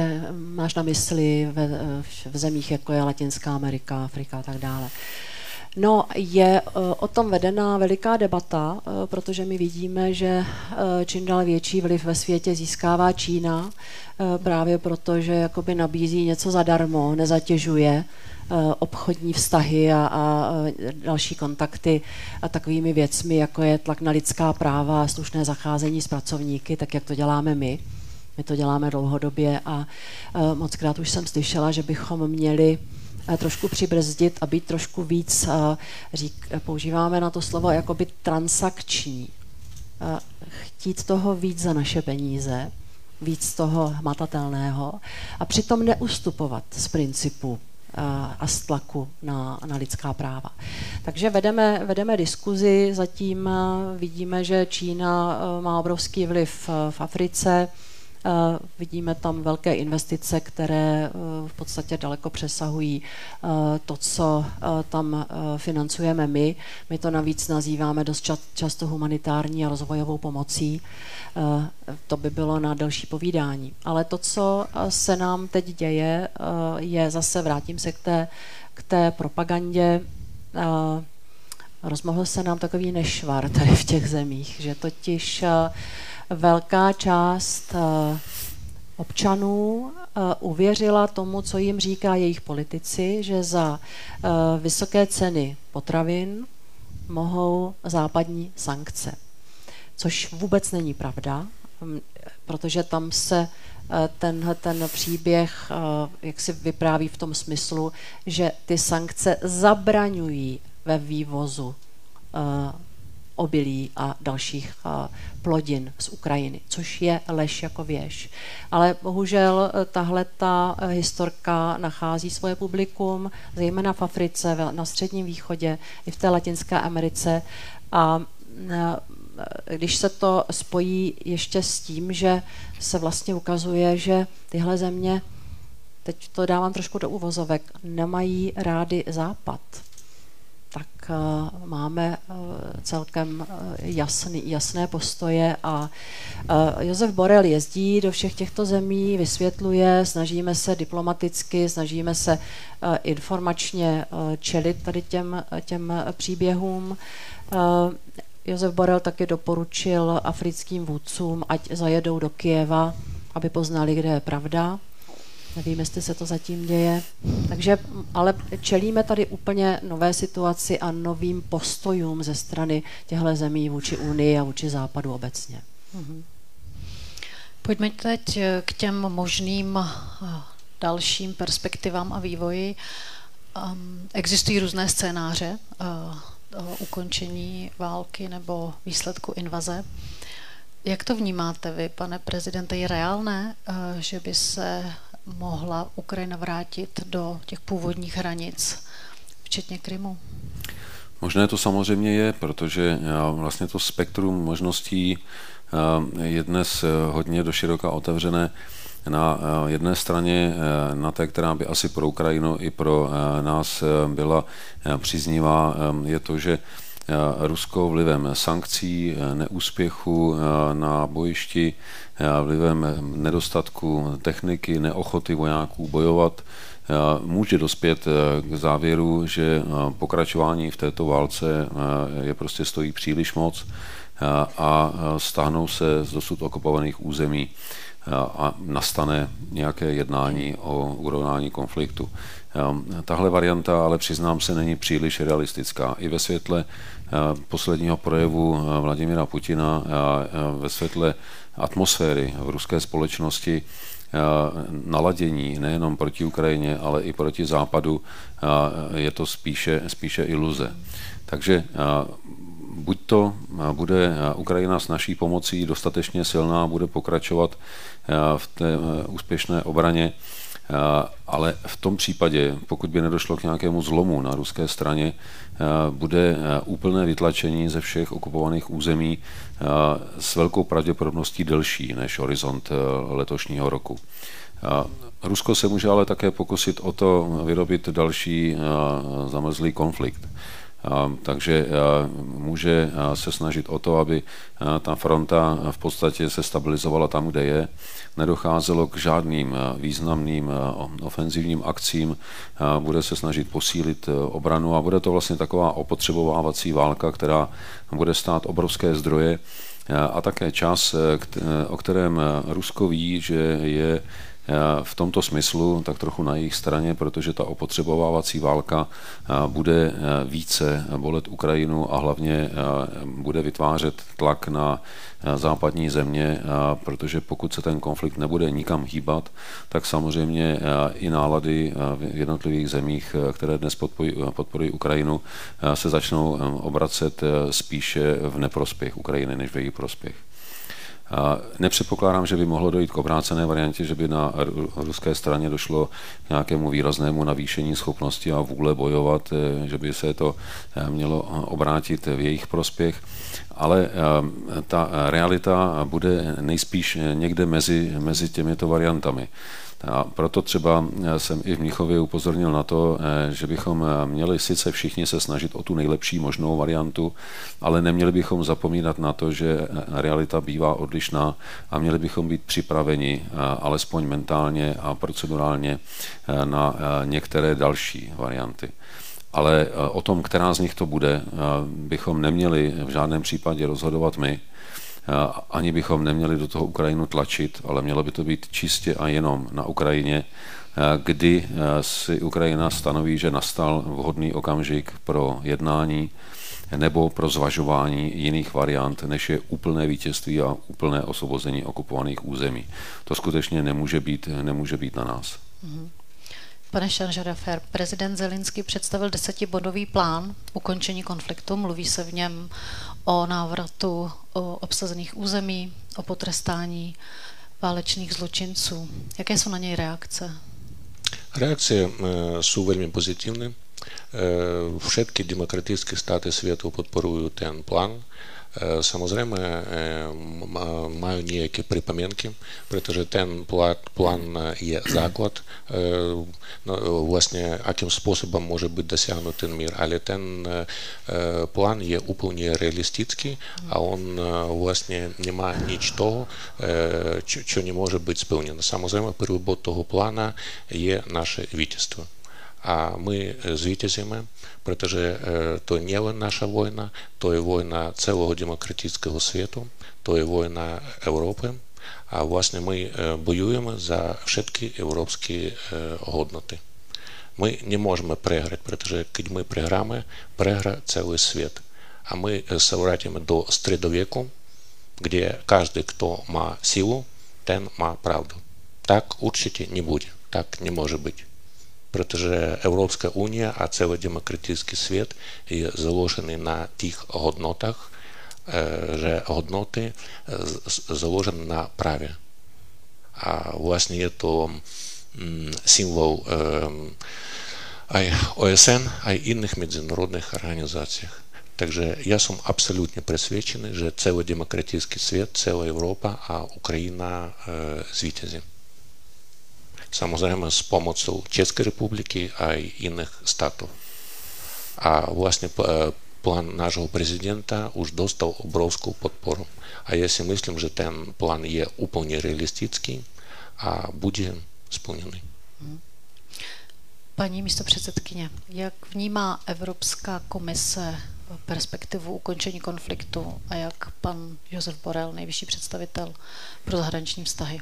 Máš na mysli v zemích, jako je Latinská Amerika, Afrika a tak dále. No, je o tom vedena veliká debata, protože my vidíme, že čím dál větší vliv ve světě získává Čína, právě proto, že jakoby nabízí něco zadarmo, nezatěžuje obchodní vztahy a další kontakty a takovými věcmi, jako je tlak na lidská práva a slušné zacházení s pracovníky, tak jak to děláme my. My to děláme dlouhodobě a mockrát už jsem slyšela, že bychom měli trošku přibrzdit a být trošku víc, používáme na to slovo jakoby transakční. Chtít toho víc za naše peníze, víc toho hmatatelného a přitom neustupovat z principu a z tlaku na lidská práva. Takže vedeme diskuzi, zatím vidíme, že Čína má obrovský vliv v Africe, vidíme tam velké investice, které v podstatě daleko přesahují to, co tam financujeme my. My to navíc nazýváme dost často humanitární a rozvojovou pomocí. To by bylo na delší povídání. Ale to, co se nám teď děje, je zase, vrátím se k té propagandě, rozmohl se nám takový nešvar tady v těch zemích, že totiž velká část občanů uvěřila tomu, co jim říká jejich politici, že za vysoké ceny potravin mohou západní sankce. Což vůbec není pravda, protože tam se ten příběh jak si vypráví v tom smyslu, že ty sankce zabraňují ve vývozu obilí a dalších plodin z Ukrajiny, což je lež jako věž. Ale bohužel tahleta historka nachází svoje publikum, zejména v Africe, na Středním východě, i v té Latinské Americe. A když se to spojí ještě s tím, že se vlastně ukazuje, že tyhle země, teď to dávám trošku do uvozovek, nemají rády Západ, tak máme celkem jasné postoje a Josef Borrell jezdí do všech těchto zemí, vysvětluje, snažíme se diplomaticky, snažíme se informačně čelit tady těm příběhům. Josef Borrell taky doporučil africkým vůdcům, ať zajedou do Kyjeva, aby poznali, kde je pravda. Nevím, jestli se to zatím děje. Takže, ale čelíme tady úplně nové situaci a novým postojům ze strany těchto zemí vůči Unii a vůči Západu obecně. Pojďme teď k těm možným dalším perspektivám a vývoji. Existují různé scénáře ukončení války nebo výsledku invaze. Jak to vnímáte vy, pane prezidente? Je reálné, že by se mohla Ukrajina vrátit do těch původních hranic, včetně Krymu? Možné to samozřejmě je, protože vlastně to spektrum možností je dnes hodně doširoka otevřené. Na jedné straně, na té, která by asi pro Ukrajinu i pro nás byla příznivá, je to, že Rusko vlivem sankcí, neúspěchu na bojišti, vlivem nedostatku techniky, neochoty vojáků bojovat, může dospět k závěru, že pokračování v této válce je prostě stojí příliš moc a stáhnou se z dosud okupovaných území a nastane nějaké jednání o urovnání konfliktu. Tahle varianta, ale přiznám se, není příliš realistická. I ve světle posledního projevu Vladimira Putina, ve světle atmosféry v ruské společnosti, naladění nejenom proti Ukrajině, ale i proti Západu, je to spíše iluze. Takže buď to bude Ukrajina s naší pomocí dostatečně silná, bude pokračovat v té úspěšné obraně, ale v tom případě, pokud by nedošlo k nějakému zlomu na ruské straně, bude úplné vytlačení ze všech okupovaných území s velkou pravděpodobností delší než horizont letošního roku. Rusko se může ale také pokusit o to vyrobit další zamrzlý konflikt. Takže může se snažit o to, aby ta fronta v podstatě se stabilizovala tam, kde je. Nedocházelo k žádným významným ofenzivním akcím. Bude se snažit posílit obranu a bude to vlastně taková opotřebovávací válka, která bude stát obrovské zdroje a také čas, o kterém Rusko ví, že je v tomto smyslu tak trochu na jejich straně, protože ta opotřebovávací válka bude více bolet Ukrajinu a hlavně bude vytvářet tlak na západní země, protože pokud se ten konflikt nebude nikam hýbat, tak samozřejmě i nálady v jednotlivých zemích, které dnes podporují Ukrajinu, se začnou obracet spíše v neprospěch Ukrajiny, než v její prospěch. Nepředpokládám, že by mohlo dojít k obrácené variantě, že by na ruské straně došlo k nějakému výraznému navýšení schopnosti a vůle bojovat, že by se to mělo obrátit v jejich prospěch, ale ta realita bude nejspíš někde mezi těmito variantami. A proto třeba jsem i v Mnichově upozornil na to, že bychom měli sice všichni se snažit o tu nejlepší možnou variantu, ale neměli bychom zapomínat na to, že realita bývá odlišná a měli bychom být připraveni alespoň mentálně a procedurálně na některé další varianty. Ale o tom, která z nich to bude, bychom neměli v žádném případě rozhodovat my, ani bychom neměli do toho Ukrajinu tlačit, ale mělo by to být čistě a jenom na Ukrajině, kdy si Ukrajina stanoví, že nastal vhodný okamžik pro jednání nebo pro zvažování jiných variant, než je úplné vítězství a úplné osvobození okupovaných území. To skutečně nemůže být na nás. Pane Šaržadafer, prezident Zelenský představil 10bodový plán ukončení konfliktu. Mluví se v něm o návratu obsazených území, o potrestání válečných zločinců. Jaké jsou na něj reakce? Reakcje jsou velmi pozitivní. Všetky demokratické státy světa podporují ten plán. Samozrejme, majú nejaké pripomienky, pretože ten plán je základ, vlastne akým spôsobom môže byť dosiahnutý ten mír, ale ten plán je úplne realistický a on vlastne nemá nič toho, čo nemôže byť splnené. Samozrejme, prvý bod toho plána je naše víťazstvo. A my zvítězíme, protože to nie len naša vojna, to je vojna celého demokratického světu, to je vojna Európy a vlastně my bojujeme za všetky evropské hodnoty. My nemôžeme prehrať, protože keď my prehráme, prehra celý svět. A my se vrátíme do středověku, kde každý, kdo má sílu, ten má pravdu. Tak určitě nebude, tak nemůže být. Protože Európska únia a celý demokratický svět je založený na těch hodnotách, že hodnoty založené na právě. A vlastně je to symbol aj OSN, aj iných medzinárodných organizácií. Takže já jsem absolutně přesvědčený, že celý demokratický svět, celá Evropa a Ukrajina zvítězí. Samozřejmě s pomocou České republiky a i jiných států. A vlastně plán našeho prezidenta už dostal obrovskou podporu. A já si myslím, že ten plán je úplně realistický a bude splněný. Paní místopředsedkyně, jak vnímá Evropská komise perspektivu ukončení konfliktu a jak pan Josef Borrell, nejvyšší představitel pro zahraniční vztahy?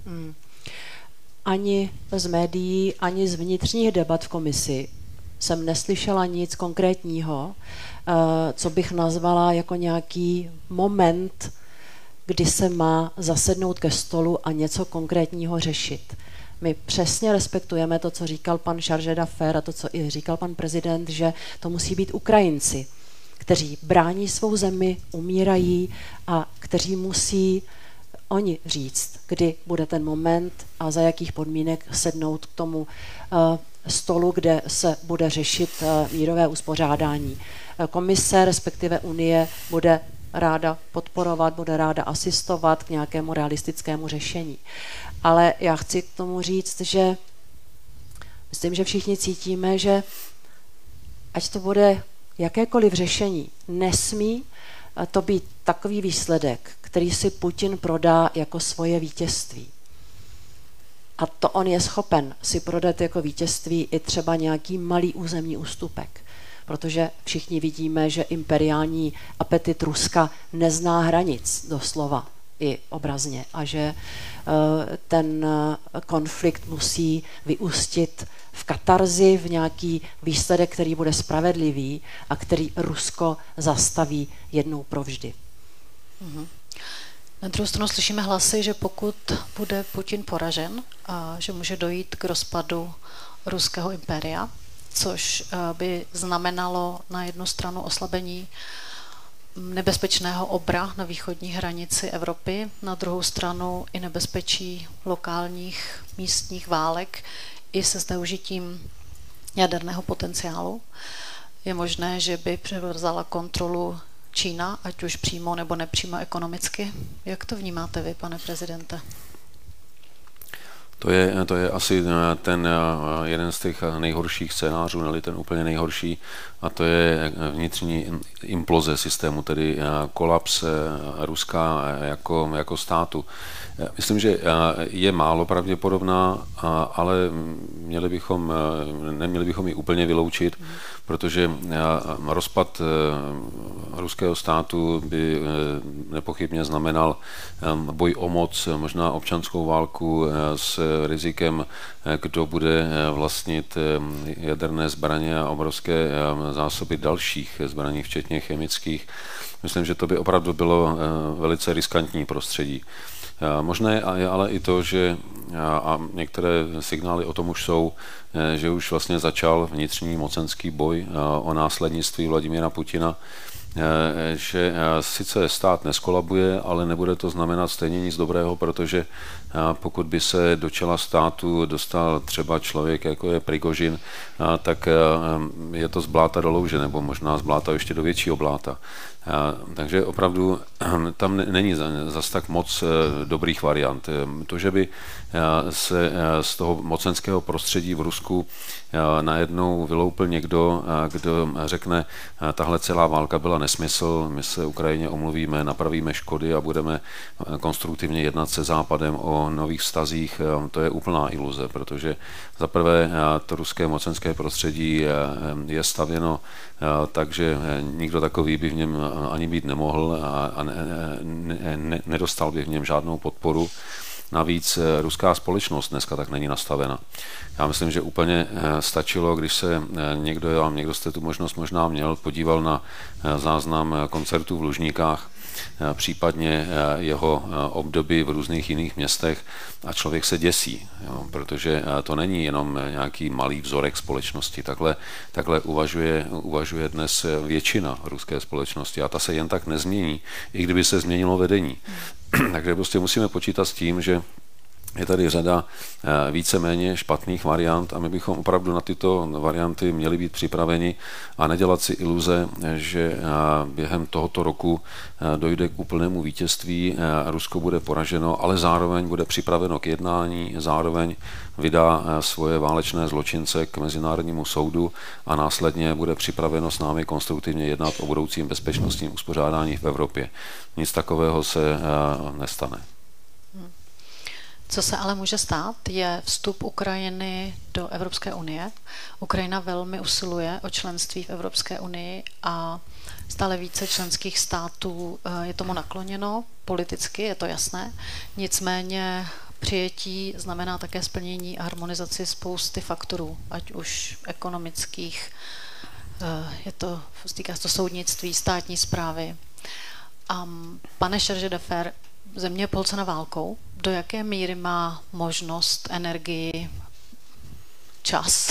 Ani z médií, ani z vnitřních debat v komisi jsem neslyšela nic konkrétního, co bych nazvala jako nějaký moment, kdy se má zasednout ke stolu a něco konkrétního řešit. My přesně respektujeme to, co říkal pan Šaržadafer a to, co i říkal pan prezident, že to musí být Ukrajinci, kteří brání svou zemi, umírají a kteří musí oni říct, kdy bude ten moment a za jakých podmínek sednout k tomu stolu, kde se bude řešit mírové uspořádání. Komise, respektive Unie, bude ráda podporovat, bude ráda asistovat k nějakému realistickému řešení. Ale já chci k tomu říct, že myslím, že všichni cítíme, že ať to bude jakékoliv řešení nesmí to být takový výsledek, který si Putin prodá jako svoje vítězství. A to on je schopen si prodat jako vítězství i třeba nějaký malý územní ústupek. Protože všichni vidíme, že imperiální apetit Ruska nezná hranic doslova i obrazně a že ten konflikt musí vyústit v katarzi, v nějaký výsledek, který bude spravedlivý a který Rusko zastaví jednou provždy. Na druhou stranu slyšíme hlasy, že pokud bude Putin poražen, a že může dojít k rozpadu ruského impéria, což by znamenalo na jednu stranu oslabení nebezpečného obra na východní hranici Evropy, na druhou stranu i nebezpečí lokálních místních válek i se zneužitím jaderného potenciálu. Je možné, že by převzala kontrolu Čína, ať už přímo nebo nepřímo ekonomicky. Jak to vnímáte vy, pane prezidente? To je asi ten jeden z těch nejhorších scénářů, nebo ten úplně nejhorší, a to je vnitřní imploze systému, tedy kolaps Ruska jako státu. Myslím, že je málo pravděpodobná, ale neměli bychom ji úplně vyloučit, protože rozpad ruského státu by nepochybně znamenal boj o moc, možná občanskou válku s rizikem, kdo bude vlastnit jaderné zbraně a obrovské zásoby dalších zbraní, včetně chemických. Myslím, že to by opravdu bylo velice riskantní prostředí. Možné je ale i to, že a některé signály o tom už jsou, že už vlastně začal vnitřní mocenský boj o následnictví Vladimíra Putina, že sice stát neskolabuje, ale nebude to znamenat stejně nic dobrého, protože pokud by se do čela státu dostal třeba člověk, jako je Prigožin, tak je to z bláta do louže, nebo možná z bláta ještě do většího bláta. Takže opravdu tam není zas tak moc dobrých variant. To, že by se z toho mocenského prostředí v Rusku najednou vyloupil někdo, kdo řekne, tahle celá válka byla nesmysl, my se Ukrajině omluvíme, napravíme škody a budeme konstruktivně jednat se Západem o nových vztazích, to je úplná iluze, protože zaprvé to ruské mocenské prostředí je stavěno tak, že nikdo takový by v něm ani být nemohl a nedostal by v něm žádnou podporu. Navíc ruská společnost dneska tak není nastavena. Já myslím, že úplně stačilo, když se někdo jste tu možnost možná měl, podíval na záznam koncertu v Lužníkách, případně jeho období v různých jiných městech a člověk se děsí, protože to není jenom nějaký malý vzorek společnosti. Takhle uvažuje dnes většina ruské společnosti a ta se jen tak nezmění, i kdyby se změnilo vedení. Takže prostě musíme počítat s tím, že je tady řada víceméně špatných variant a my bychom opravdu na tyto varianty měli být připraveni a nedělat si iluze, že během tohoto roku dojde k úplnému vítězství, Rusko bude poraženo, ale zároveň bude připraveno k jednání, zároveň vydá svoje válečné zločince k Mezinárodnímu soudu a následně bude připraveno s námi konstruktivně jednat o budoucím bezpečnostním uspořádání v Evropě. Nic takového se nestane. Co se ale může stát, je vstup Ukrajiny do Evropské unie. Ukrajina velmi usiluje o členství v Evropské unii a stále více členských států je tomu nakloněno, politicky je to jasné. Nicméně přijetí znamená také splnění a harmonizaci spousty faktorů, ať už ekonomických, týká se to soudnictví, státní správy. Pane Chargé d'Affaires, země je polcena válkou. Do jaké míry má možnost, energii, čas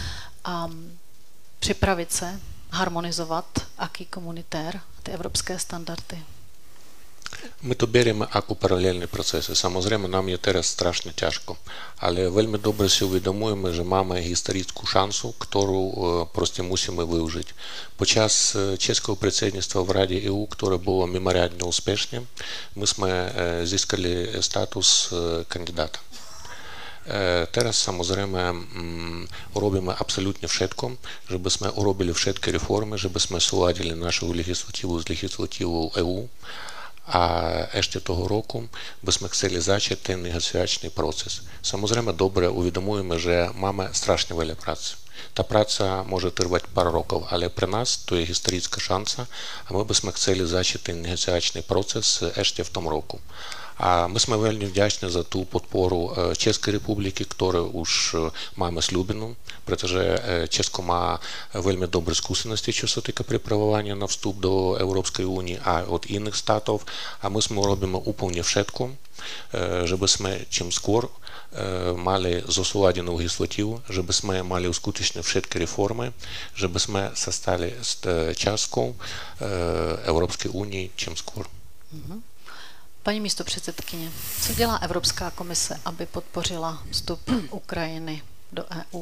připravit se, harmonizovat acquis communautaire, ty evropské standardy? Ми то беремо як у паралельні процеси. Samozrejme, нам є зараз страшно тяжко. Але вельми добре си усвідомуємо, що маємо історичну шансу, яку просто мусимо вижити. Під час чеського председництва в Раді ЕУ, яке було меморіально успішним, ми зіскали статус кандидата. Teraz samozrejme робимо абсолютно všetko, żeby sme urobili všetky reformy, żeby sme súladili našu legislatívu z legislatívou EU. A ešte toho roku by sme chceli začať ten negociačný proces. Samozrejme, dobre uvedomujeme, že máme strašne veľa práce. Tá práca môže trvať pár rokov, ale pre nás to je historická šanca a my by sme chceli začať ten negociačný proces ešte v tom roku. A my sme veľmi vďační za tú podporu Českej republiky, ktorú už máme slúbenú, pretože Česko má veľmi dobré skúsenosti, čo sa týka pripravovania na vstup do Európskej únie a od iných štátov. A my sme robíme úplne všetko, żeby sme čím skôr mali zosúladenú legislatívu, żeby sme mali uskutočniť všetky reformy, żeby sme sa stali částkou Európskej únie čím skôr. Paní místopředsedkyně, co dělá Evropská komise, aby podpořila vstup Ukrajiny do EU?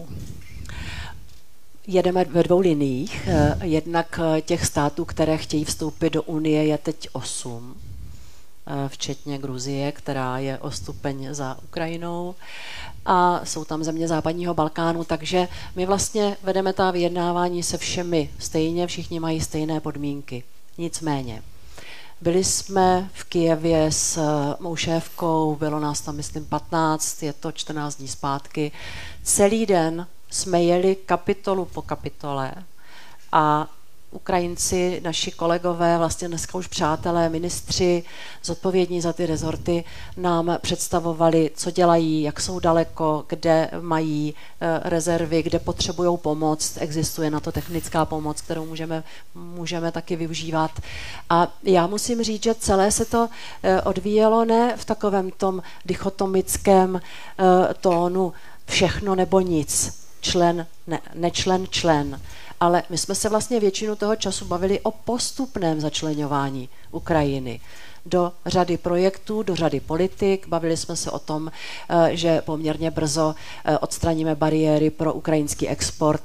Jedeme ve dvou liniích. Jednak těch států, které chtějí vstoupit do Unie, je teď 8, včetně Gruzie, která je o stupeň za Ukrajinou. A jsou tam země západního Balkánu, takže my vlastně vedeme ta vyjednávání se všemi stejně, všichni mají stejné podmínky. Nicméně, byli jsme v Kyjevě s mou šéfkou, bylo nás tam, myslím, 15, je to 14 dní zpátky. Celý den jsme jeli kapitolu po kapitole a Ukrajinci, naši kolegové, vlastně dneska už přátelé, ministři, zodpovědní za ty rezorty, nám představovali, co dělají, jak jsou daleko, kde mají rezervy, kde potřebují pomoc. Existuje na to technická pomoc, kterou můžeme taky využívat. A já musím říct, že celé se to odvíjelo ne v takovém tom dichotomickém tónu všechno nebo nic, člen, ne, nečlen, člen. Ale my jsme se vlastně většinu toho času bavili o postupném začleňování Ukrajiny do řady projektů, do řady politik. Bavili jsme se o tom, že poměrně brzo odstraníme bariéry pro ukrajinský export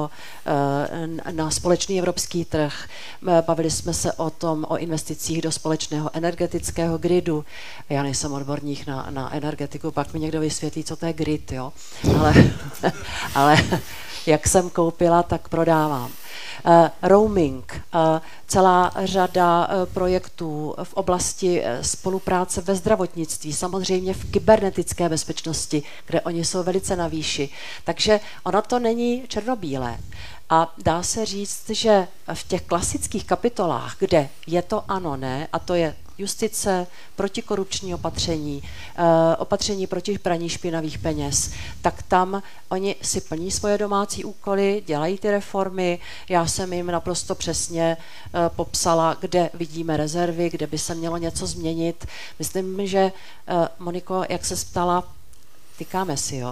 na společný evropský trh. Bavili jsme se o investicích do společného energetického gridu. Já nejsem odborník na energetiku, pak mi někdo vysvětlí, co to je grid, jo? Ale jak jsem koupila, tak prodávám. Roaming, celá řada projektů v oblasti spolupráce ve zdravotnictví, samozřejmě v kybernetické bezpečnosti, kde oni jsou velice na výši. Takže ono to není černobílé. A dá se říct, že v těch klasických kapitolách, kde je to ano, ne, a to je justice, protikorupční opatření, opatření proti praní špinavých peněz, tak tam oni si plní svoje domácí úkoly, dělají ty reformy. Já jsem jim naprosto přesně popsala, kde vidíme rezervy, kde by se mělo něco změnit. Myslím, že Moniko, jak se ptala, tykáme si, jo.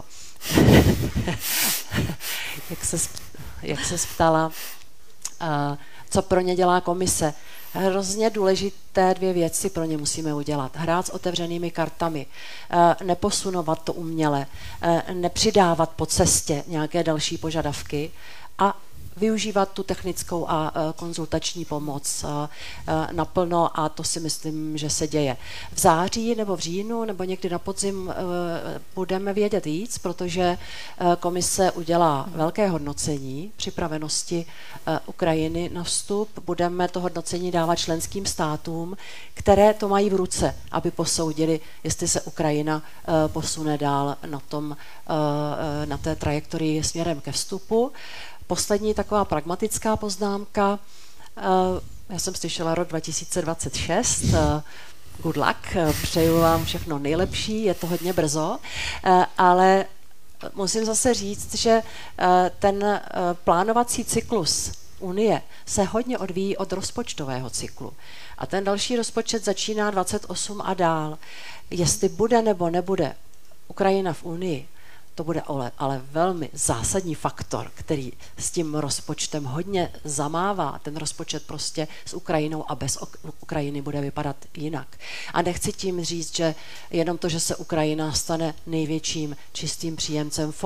jak se ptala, co pro ně dělá komise. Hrozně důležité 2 věci pro ně musíme udělat. Hrát s otevřenými kartami, neposunovat to uměle, nepřidávat po cestě nějaké další požadavky a využívat tu technickou a konzultační pomoc naplno a to si myslím, že se děje. V září nebo v říjnu nebo někdy na podzim budeme vědět víc, protože komise udělá velké hodnocení připravenosti Ukrajiny na vstup. Budeme to hodnocení dávat členským státům, které to mají v ruce, aby posoudili, jestli se Ukrajina posune dál na té trajektorii směrem ke vstupu. Poslední taková pragmatická poznámka. Já jsem slyšela rok 2026. Good luck, přeju vám všechno nejlepší, je to hodně brzo, ale musím zase říct, že ten plánovací cyklus Unie se hodně odvíjí od rozpočtového cyklu. A ten další rozpočet začíná 28 a dál. Jestli bude nebo nebude Ukrajina v Unii, to bude ale velmi zásadní faktor, který s tím rozpočtem hodně zamává. Ten rozpočet prostě s Ukrajinou a bez Ukrajiny bude vypadat jinak. A nechci tím říct, že jenom to, že se Ukrajina stane největším čistým příjemcem fondů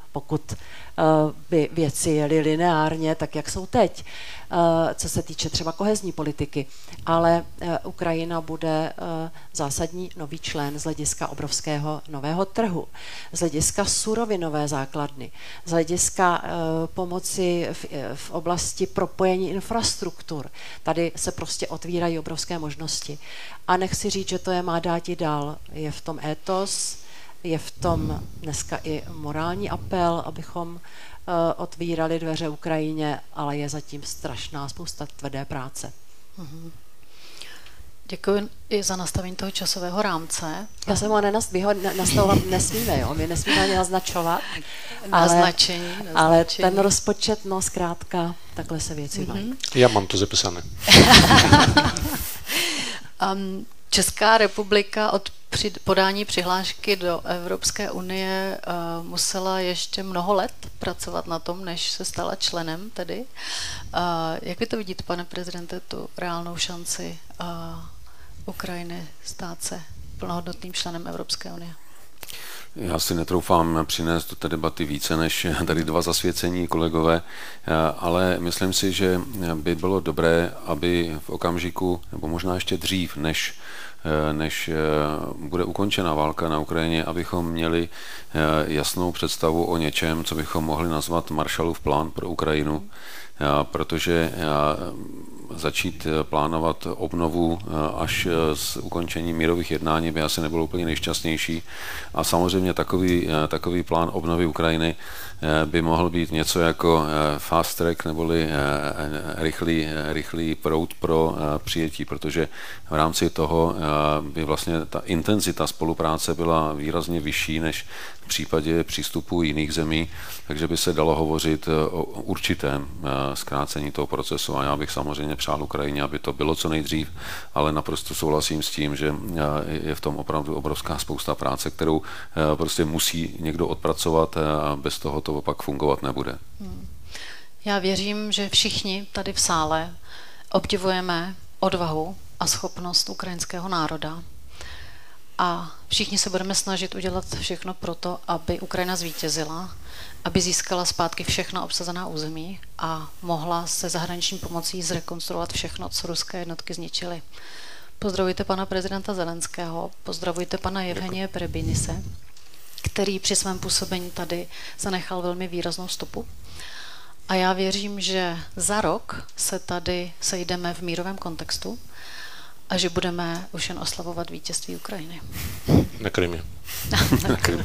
pokud by věci jely lineárně, tak jak jsou teď, co se týče třeba kohezní politiky. Ale Ukrajina bude zásadní nový člen z hlediska obrovského nového trhu, z hlediska surovinové základny, z hlediska pomoci v oblasti propojení infrastruktur. Tady se prostě otvírají obrovské možnosti. A nechci říct, že to je má dát i dál. Je v tom étos, je v tom dneska i morální apel, abychom otvírali dveře Ukrajině, ale je zatím strašná spousta tvrdé práce. Děkuji i za nastavení toho časového rámce. Já jsem ho nastavovat nesmíme, jo? My nesmíme ani naznačovat. Naznačení. Ale ten rozpočet, no zkrátka, takhle se věci mají. Já mám to zapisané. Česká republika od podání přihlášky do Evropské unie musela ještě mnoho let pracovat na tom, než se stala členem tedy. Jak vy to vidíte, pane prezidente, tu reálnou šanci Ukrajiny stát se plnohodnotným členem Evropské unie? Já si netroufám přinést do té debaty více než tady dva zasvěcení kolegové, ale myslím si, že by bylo dobré, aby v okamžiku, nebo možná ještě dřív, než bude ukončena válka na Ukrajině, abychom měli jasnou představu o něčem, co bychom mohli nazvat Marshallův plán pro Ukrajinu, protože začít plánovat obnovu až s ukončením mírových jednání by asi nebylo úplně nejšťastnější. A samozřejmě takový plán obnovy Ukrajiny by mohl být něco jako fast track neboli rychlý proud pro přijetí, protože v rámci toho by vlastně ta intenzita spolupráce byla výrazně vyšší než v případě přístupu jiných zemí, takže by se dalo hovořit o určitém zkrácení toho procesu. A já bych samozřejmě přál Ukrajině, aby to bylo co nejdřív, ale naprosto souhlasím s tím, že je v tom opravdu obrovská spousta práce, kterou prostě musí někdo odpracovat a bez toho to opak fungovat nebude. Já věřím, že všichni tady v sále obdivujeme odvahu a schopnost ukrajinského národa. A všichni se budeme snažit udělat všechno pro to, aby Ukrajina zvítězila, aby získala zpátky všechna obsazená území a mohla se zahraniční pomocí zrekonstruovat všechno, co ruské jednotky zničily. Pozdravujte pana prezidenta Zelenského, pozdravujte pana Jevhenije Perebinise, který při svém působení tady zanechal velmi výraznou stopu. A já věřím, že za rok se tady sejdeme v mírovém kontextu a že budeme už jen oslavovat vítězství Ukrajiny. Na Krymě. Na Krymě.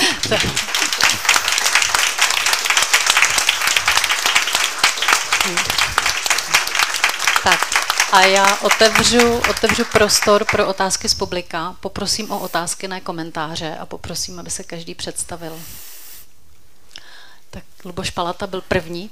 Tak a já otevřu prostor pro otázky z publika. Poprosím o otázky, ne komentáře a poprosím, aby se každý představil. Tak Luboš Palata byl první.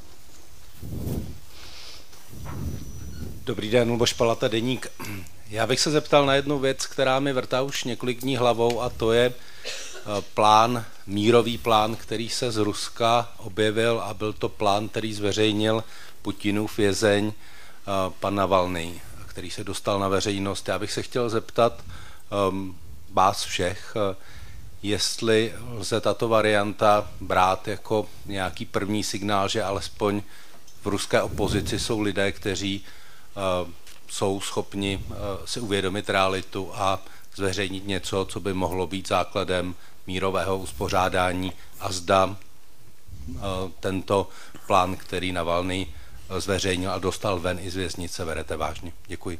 Dobrý den, Luboš Palata, Deník. Já bych se zeptal na jednu věc, která mi vrtá už několik dní hlavou, a to je mírový plán, který se z Ruska objevil, a byl to plán, který zveřejnil Putinův vězeň pan Navalný, který se dostal na veřejnost. Já bych se chtěl zeptat vás všech, jestli lze tato varianta brát jako nějaký první signál, že alespoň v ruské opozici jsou lidé, kteří jsou schopni si uvědomit realitu a zveřejnit něco, co by mohlo být základem mírového uspořádání, a zda tento plán, který Navalný zveřejnil a dostal ven i z věznice, berete vážně. Děkuji.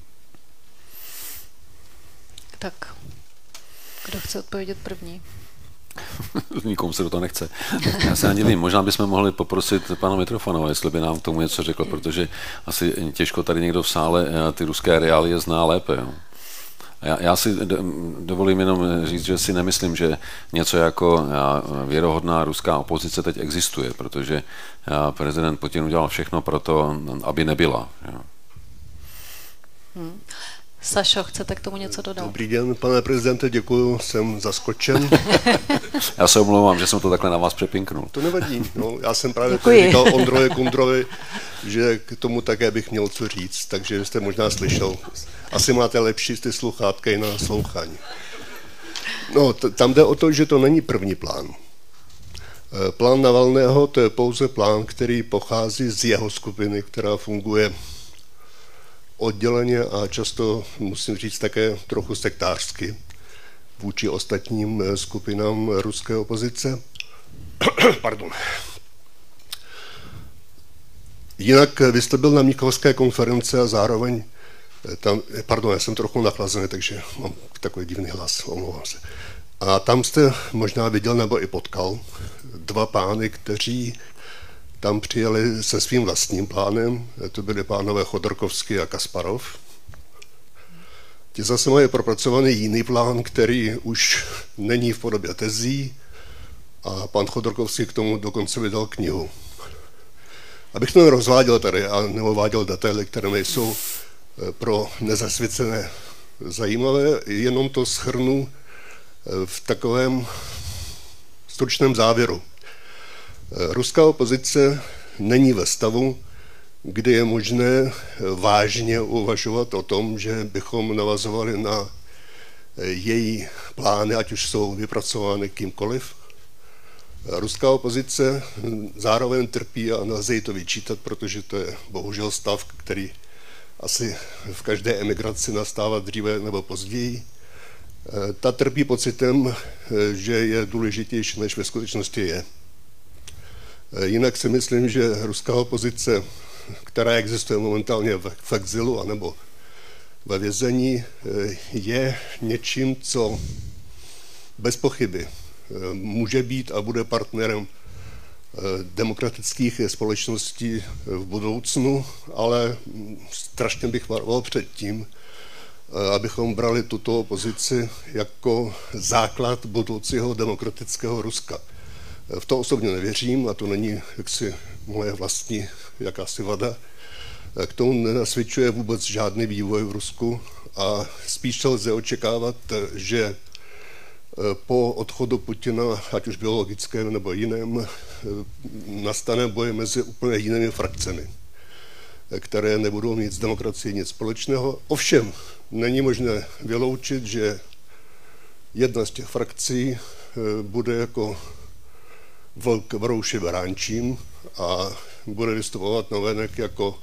Tak, kdo chce odpovědět první? Nikomu se do toho nechce. Já se ani nevím, možná bychom mohli poprosit pana Mitrofanova, jestli by nám k tomu něco řekl, protože asi těžko tady někdo v sále ty ruské reálie zná lépe. Jo. Já si dovolím jenom říct, že si nemyslím, že něco jako věrohodná ruská opozice teď existuje, protože prezident Putin udělal všechno pro to, aby nebyla. Jo. Sašo, chcete k tomu něco dodat? Dobrý den, pane prezidente, děkuju, jsem zaskočen. Já se omlouvám, že jsem to takhle na vás přepinknul. To nevadí, no, já jsem právě říkal Ondrovi Kundrovi, že k tomu také bych měl co říct, takže jste možná slyšel. Asi máte lepší ty sluchátka i na naslouchání. No, tam jde o to, že to není první plán. Plán Navalného to je pouze plán, který pochází z jeho skupiny, která funguje odděleně a často, musím říct, také trochu sektářsky vůči ostatním skupinám ruské opozice. Pardon. Jinak vy jste byl na Mnichovské konferenci a zároveň tam, pardon, já jsem trochu nachlazený, takže mám takový divný hlas, omlouvám se. A tam jste možná viděl nebo i potkal dva pány, kteří tam přijeli se svým vlastním plánem, to byli pánové Chodorkovský a Kasparov. Ti zase mají propracovaný jiný plán, který už není v podobě tezí a pan Chodorkovský k tomu dokonce vydal knihu. Abych to nerozváděl tady a neuváděl detaily, které nejsou pro nezasvěcené zajímavé, jenom to shrnu v takovém stručném závěru. Ruská opozice není ve stavu, kdy je možné vážně uvažovat o tom, že bychom navazovali na její plány, ať už jsou vypracovány kýmkoliv. Ruská opozice zároveň trpí a nelze jí to vyčítat, protože to je bohužel stav, který asi v každé emigraci nastává dříve nebo později. Ta trpí pocitem, že je důležitější, než ve skutečnosti je. Jinak si myslím, že ruská opozice, která existuje momentálně v exilu anebo ve vězení, je něčím, co bez pochyby může být a bude partnerem demokratických společností v budoucnu, ale strašně bych varoval před tím, abychom brali tuto opozici jako základ budoucího demokratického Ruska. V to osobně nevěřím a to není jaksi moje vlastní jakási vada. K tomu nenasvědčuje vůbec žádný vývoj v Rusku a spíš lze očekávat, že po odchodu Putina, ať už biologickém nebo jiném, nastane boj mezi úplně jinými frakcemi, které nebudou mít s demokracií nic společného. Ovšem, není možné vyloučit, že jedna z těch frakcí bude jako vlk v rouši beránčím a bude vystupovat navenek jako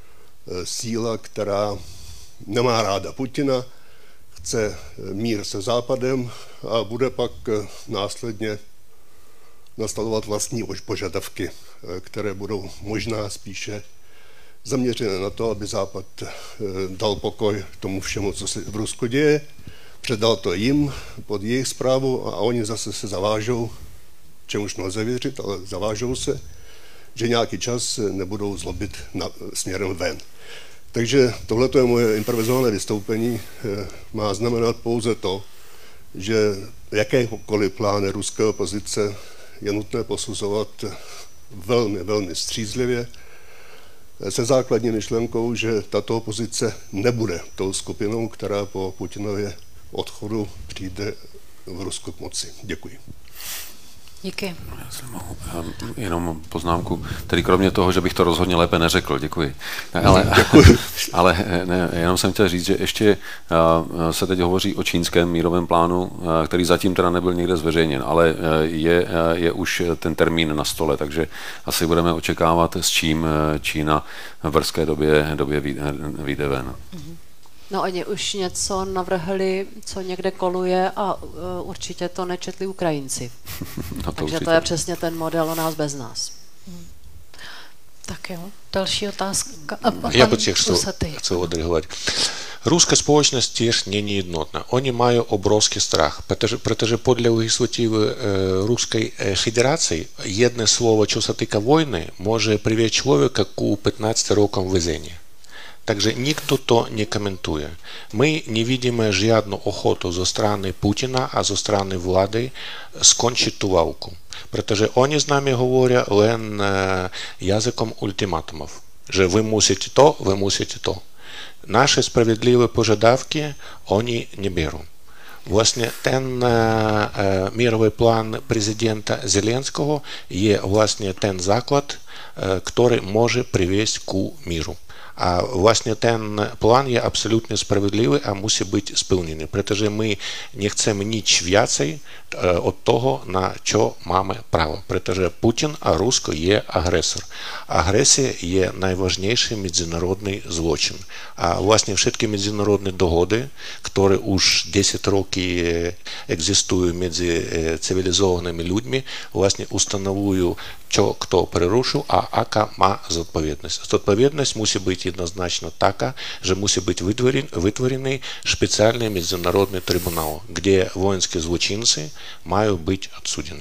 síla, která nemá ráda Putina, chce mír se Západem a bude pak následně nastavovat vlastní požadavky, které budou možná spíše zaměřené na to, aby Západ dal pokoj tomu všemu, co se v Rusku děje, předal to jim pod jejich správu a oni zase se zavážou, čemuž nelze věřit, ale zavážou se, že nějaký čas nebudou zlobit směrem ven. Takže tohle je moje improvizované vystoupení, má znamenat pouze to, že jakékoliv plány ruské opozice je nutné posuzovat velmi, velmi střízlivě, se základní myšlenkou, že tato opozice nebude tou skupinou, která po Putinově odchodu přijde v Rusku k moci. Děkuji. Díky. Já si mohu jenom poznámku, tedy kromě toho, že bych to rozhodně lépe neřekl, děkuji. Ale ne, jenom jsem chtěl říct, že ještě se teď hovoří o čínském mírovém plánu, který zatím teda nebyl nikde zveřejněn, ale je už ten termín na stole, takže asi budeme očekávat, s čím Čína v brzké době vyjde ven. No oni už něco navrhli, co někde koluje a určitě to nečetli Ukrajinci. No to takže určitě. To je přesně ten model o nás bez nás. Tak jo, další otázka. Я бы хотел отреагировать. Руська спольність теж не неєднотна. Вони мають обровський страх, protože podle legislativy Ruskiej Federacji jedno słowo, co se týká wojny, może привести člověka ku 15 рокам vězení. Takže nikdo to nekomentuje. My nevidíme žádnou ochotu ze strany Putina a ze strany vlády skončit tu válku. Protože oni s námi hovorí len jazykom ultimatumů. Že vy musíte to. Naše spravedlivé požadavky oni neberou. Vlastně ten mírový plán prezidenta Zelenského je vlastně ten základ, který může přivést ku míru. А власне ten план є абсолютно справедливий, а мусить бути сповнений, protože ми не chceme nič viacej od toho, na čo máme право. Protože Putin a Rusko je agresor. Agresja je najważniejszy międzynarodny zločin. A właśnie wszystkie międzynarodne dohody, które już 10 rokів egzystują między cywilizowanymi ludźmi, właśnie ustanawiają, co kto przeruszył, a jaka ma odpowiedzialność. Odpowiedzialność musi być jednoznacznie taka, że musi być wytworzony specjalny międzynarodny trybunał, gdzie wojenské zločinci mají být odsuděni.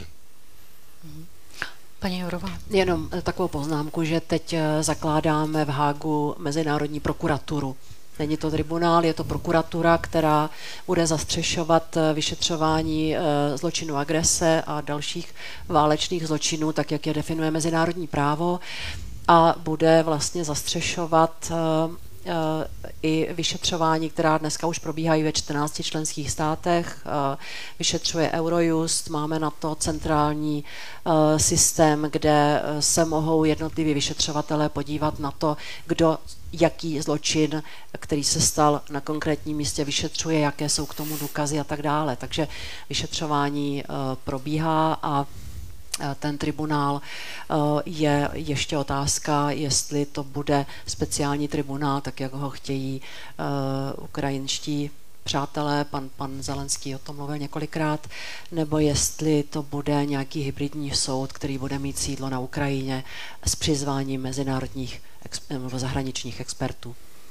Paní Jourová. Jenom takovou poznámku, že teď zakládáme v Hágu Mezinárodní prokuraturu. Není to tribunál, je to prokuratura, která bude zastřešovat vyšetřování zločinu agrese a dalších válečných zločinů, tak jak je definuje mezinárodní právo, a bude vlastně zastřešovat i vyšetřování, která dneska už probíhají ve 14 členských státech. Vyšetřuje Eurojust, máme na to centrální systém, kde se mohou jednotliví vyšetřovatelé podívat na to, kdo jaký zločin, který se stal na konkrétním místě, vyšetřuje, jaké jsou k tomu důkazy a tak dále. Takže vyšetřování probíhá a ten tribunál je ještě otázka, jestli to bude speciální tribunál, tak jak ho chtějí ukrajinští přátelé, pan Zelenský o tom mluvil několikrát, nebo jestli to bude nějaký hybridní soud, který bude mít sídlo na Ukrajině s přizváním mezinárodních nebo zahraničních expertů.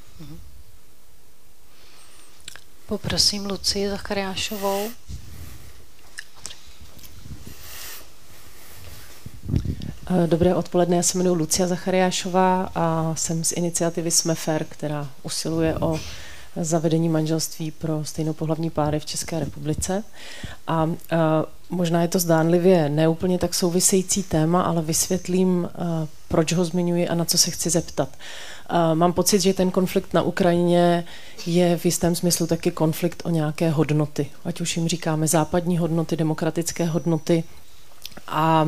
Poprosím Lucii Zachariášovou. Dobré odpoledne, já se jmenuji Lucia Zachariášová a jsem z iniciativy Jsme Fair, která usiluje o zavedení manželství pro stejnopohlavní páry v České republice. A možná je to zdánlivě neúplně tak související téma, ale vysvětlím, proč ho zmiňuji a na co se chci zeptat. Mám pocit, že ten konflikt na Ukrajině je v jistém smyslu taky konflikt o nějaké hodnoty. Ať už jim říkáme západní hodnoty, demokratické hodnoty. A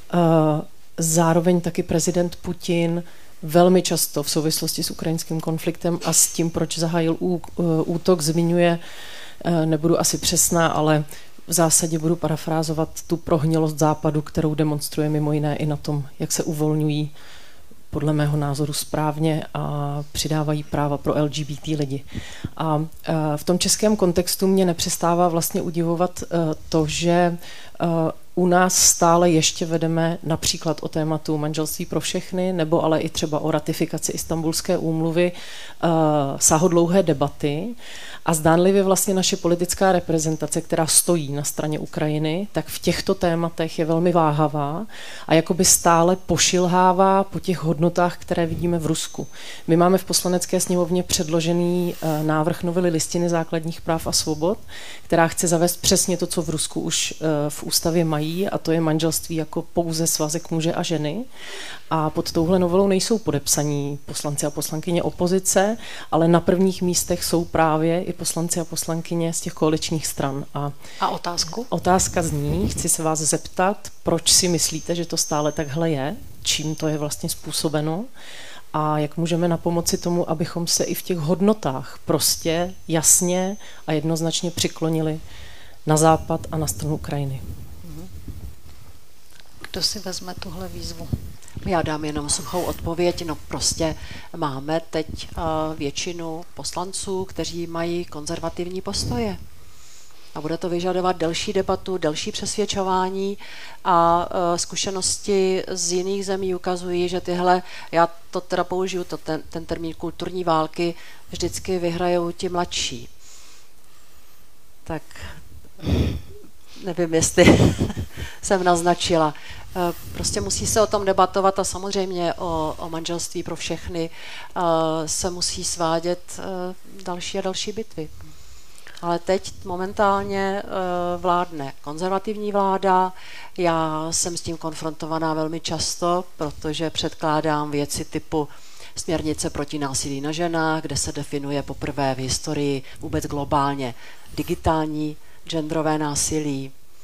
zároveň taky prezident Putin velmi často v souvislosti s ukrajinským konfliktem a s tím, proč zahájil útok, zmiňuje, nebudu asi přesná, ale v zásadě budu parafrázovat tu prohnilost západu, kterou demonstruje mimo jiné i na tom, jak se uvolňují podle mého názoru správně a přidávají práva pro LGBT lidi. A v tom českém kontextu mě nepřestává vlastně udivovat to, že u nás stále ještě vedeme například o tématu manželství pro všechny, nebo ale i třeba o ratifikaci Istanbulské úmluvy sáhodlouhé debaty. A zdánlivě vlastně naše politická reprezentace, která stojí na straně Ukrajiny, tak v těchto tématech je velmi váhavá a jakoby stále pošilhává po těch hodnotách, které vidíme v Rusku. My máme v Poslanecké sněmovně předložený návrh novely Listiny základních práv a svobod, která chce zavést přesně to, co v Rusku už v ústavě mají, a to je manželství jako pouze svazek muže a ženy. A pod touhle novelou nejsou podepsaní poslanci a poslankyně opozice, ale na prvních místech jsou právě i poslanci a poslankyně z těch koaličních stran. A otázku? Otázka zní, chci se vás zeptat, proč si myslíte, že to stále takhle je, čím to je vlastně způsobeno a jak můžeme napomoci tomu, abychom se i v těch hodnotách prostě jasně a jednoznačně přiklonili na západ a na stranu Ukrajiny. Kdo si vezme tuhle výzvu? Já dám jenom suchou odpověď. No prostě máme teď většinu poslanců, kteří mají konzervativní postoje. A bude to vyžadovat delší debatu, delší přesvědčování a zkušenosti z jiných zemí ukazují, že tyhle, já to teda použiju, ten termín kulturní války, vždycky vyhrajou ti mladší. Tak nevím, jestli jsem naznačila. Prostě musí se o tom debatovat a samozřejmě o manželství pro všechny se musí svádět další a další bitvy. Ale teď momentálně vládne konzervativní vláda. Já jsem s tím konfrontovaná velmi často, protože předkládám věci typu směrnice proti násilí na ženách, kde se definuje poprvé v historii vůbec globálně digitální genderové násilí.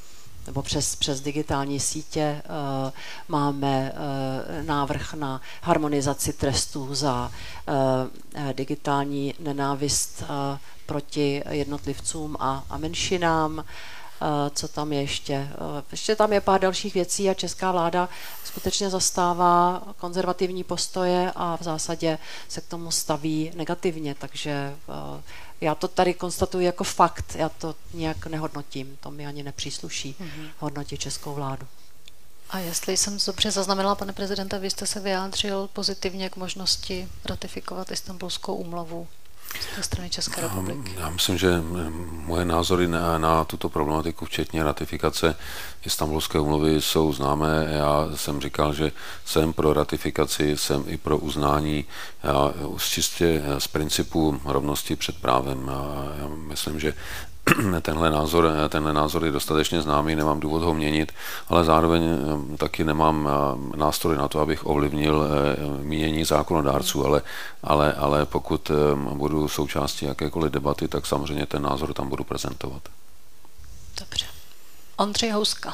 nebo přes digitální sítě. Máme návrh na harmonizaci trestů za digitální nenávist proti jednotlivcům a menšinám. Co tam je ještě? Ještě tam je pár dalších věcí a česká vláda skutečně zastává konzervativní postoje a v zásadě se k tomu staví negativně, takže já to tady konstatuji jako fakt, já to nějak nehodnotím, to mi ani nepřísluší hodnotit českou vládu. A jestli jsem dobře zaznamenala, pane prezidente, vy jste se vyjádřil pozitivně k možnosti ratifikovat Istanbulskou úmluvu ze strany České republiky. Já myslím, že moje názory na tuto problematiku, včetně ratifikace Istanbulské úmluvy, jsou známé. Já jsem říkal, že jsem pro ratifikaci, jsem i pro uznání čistě z principu rovnosti před právem. Já myslím, že tenhle názor je dostatečně známý, nemám důvod ho měnit, ale zároveň taky nemám nástroj na to, abych ovlivnil mínění zákonodárců, ale pokud budu součástí jakékoliv debaty, tak samozřejmě ten názor tam budu prezentovat. Dobře. Ondřej Houska.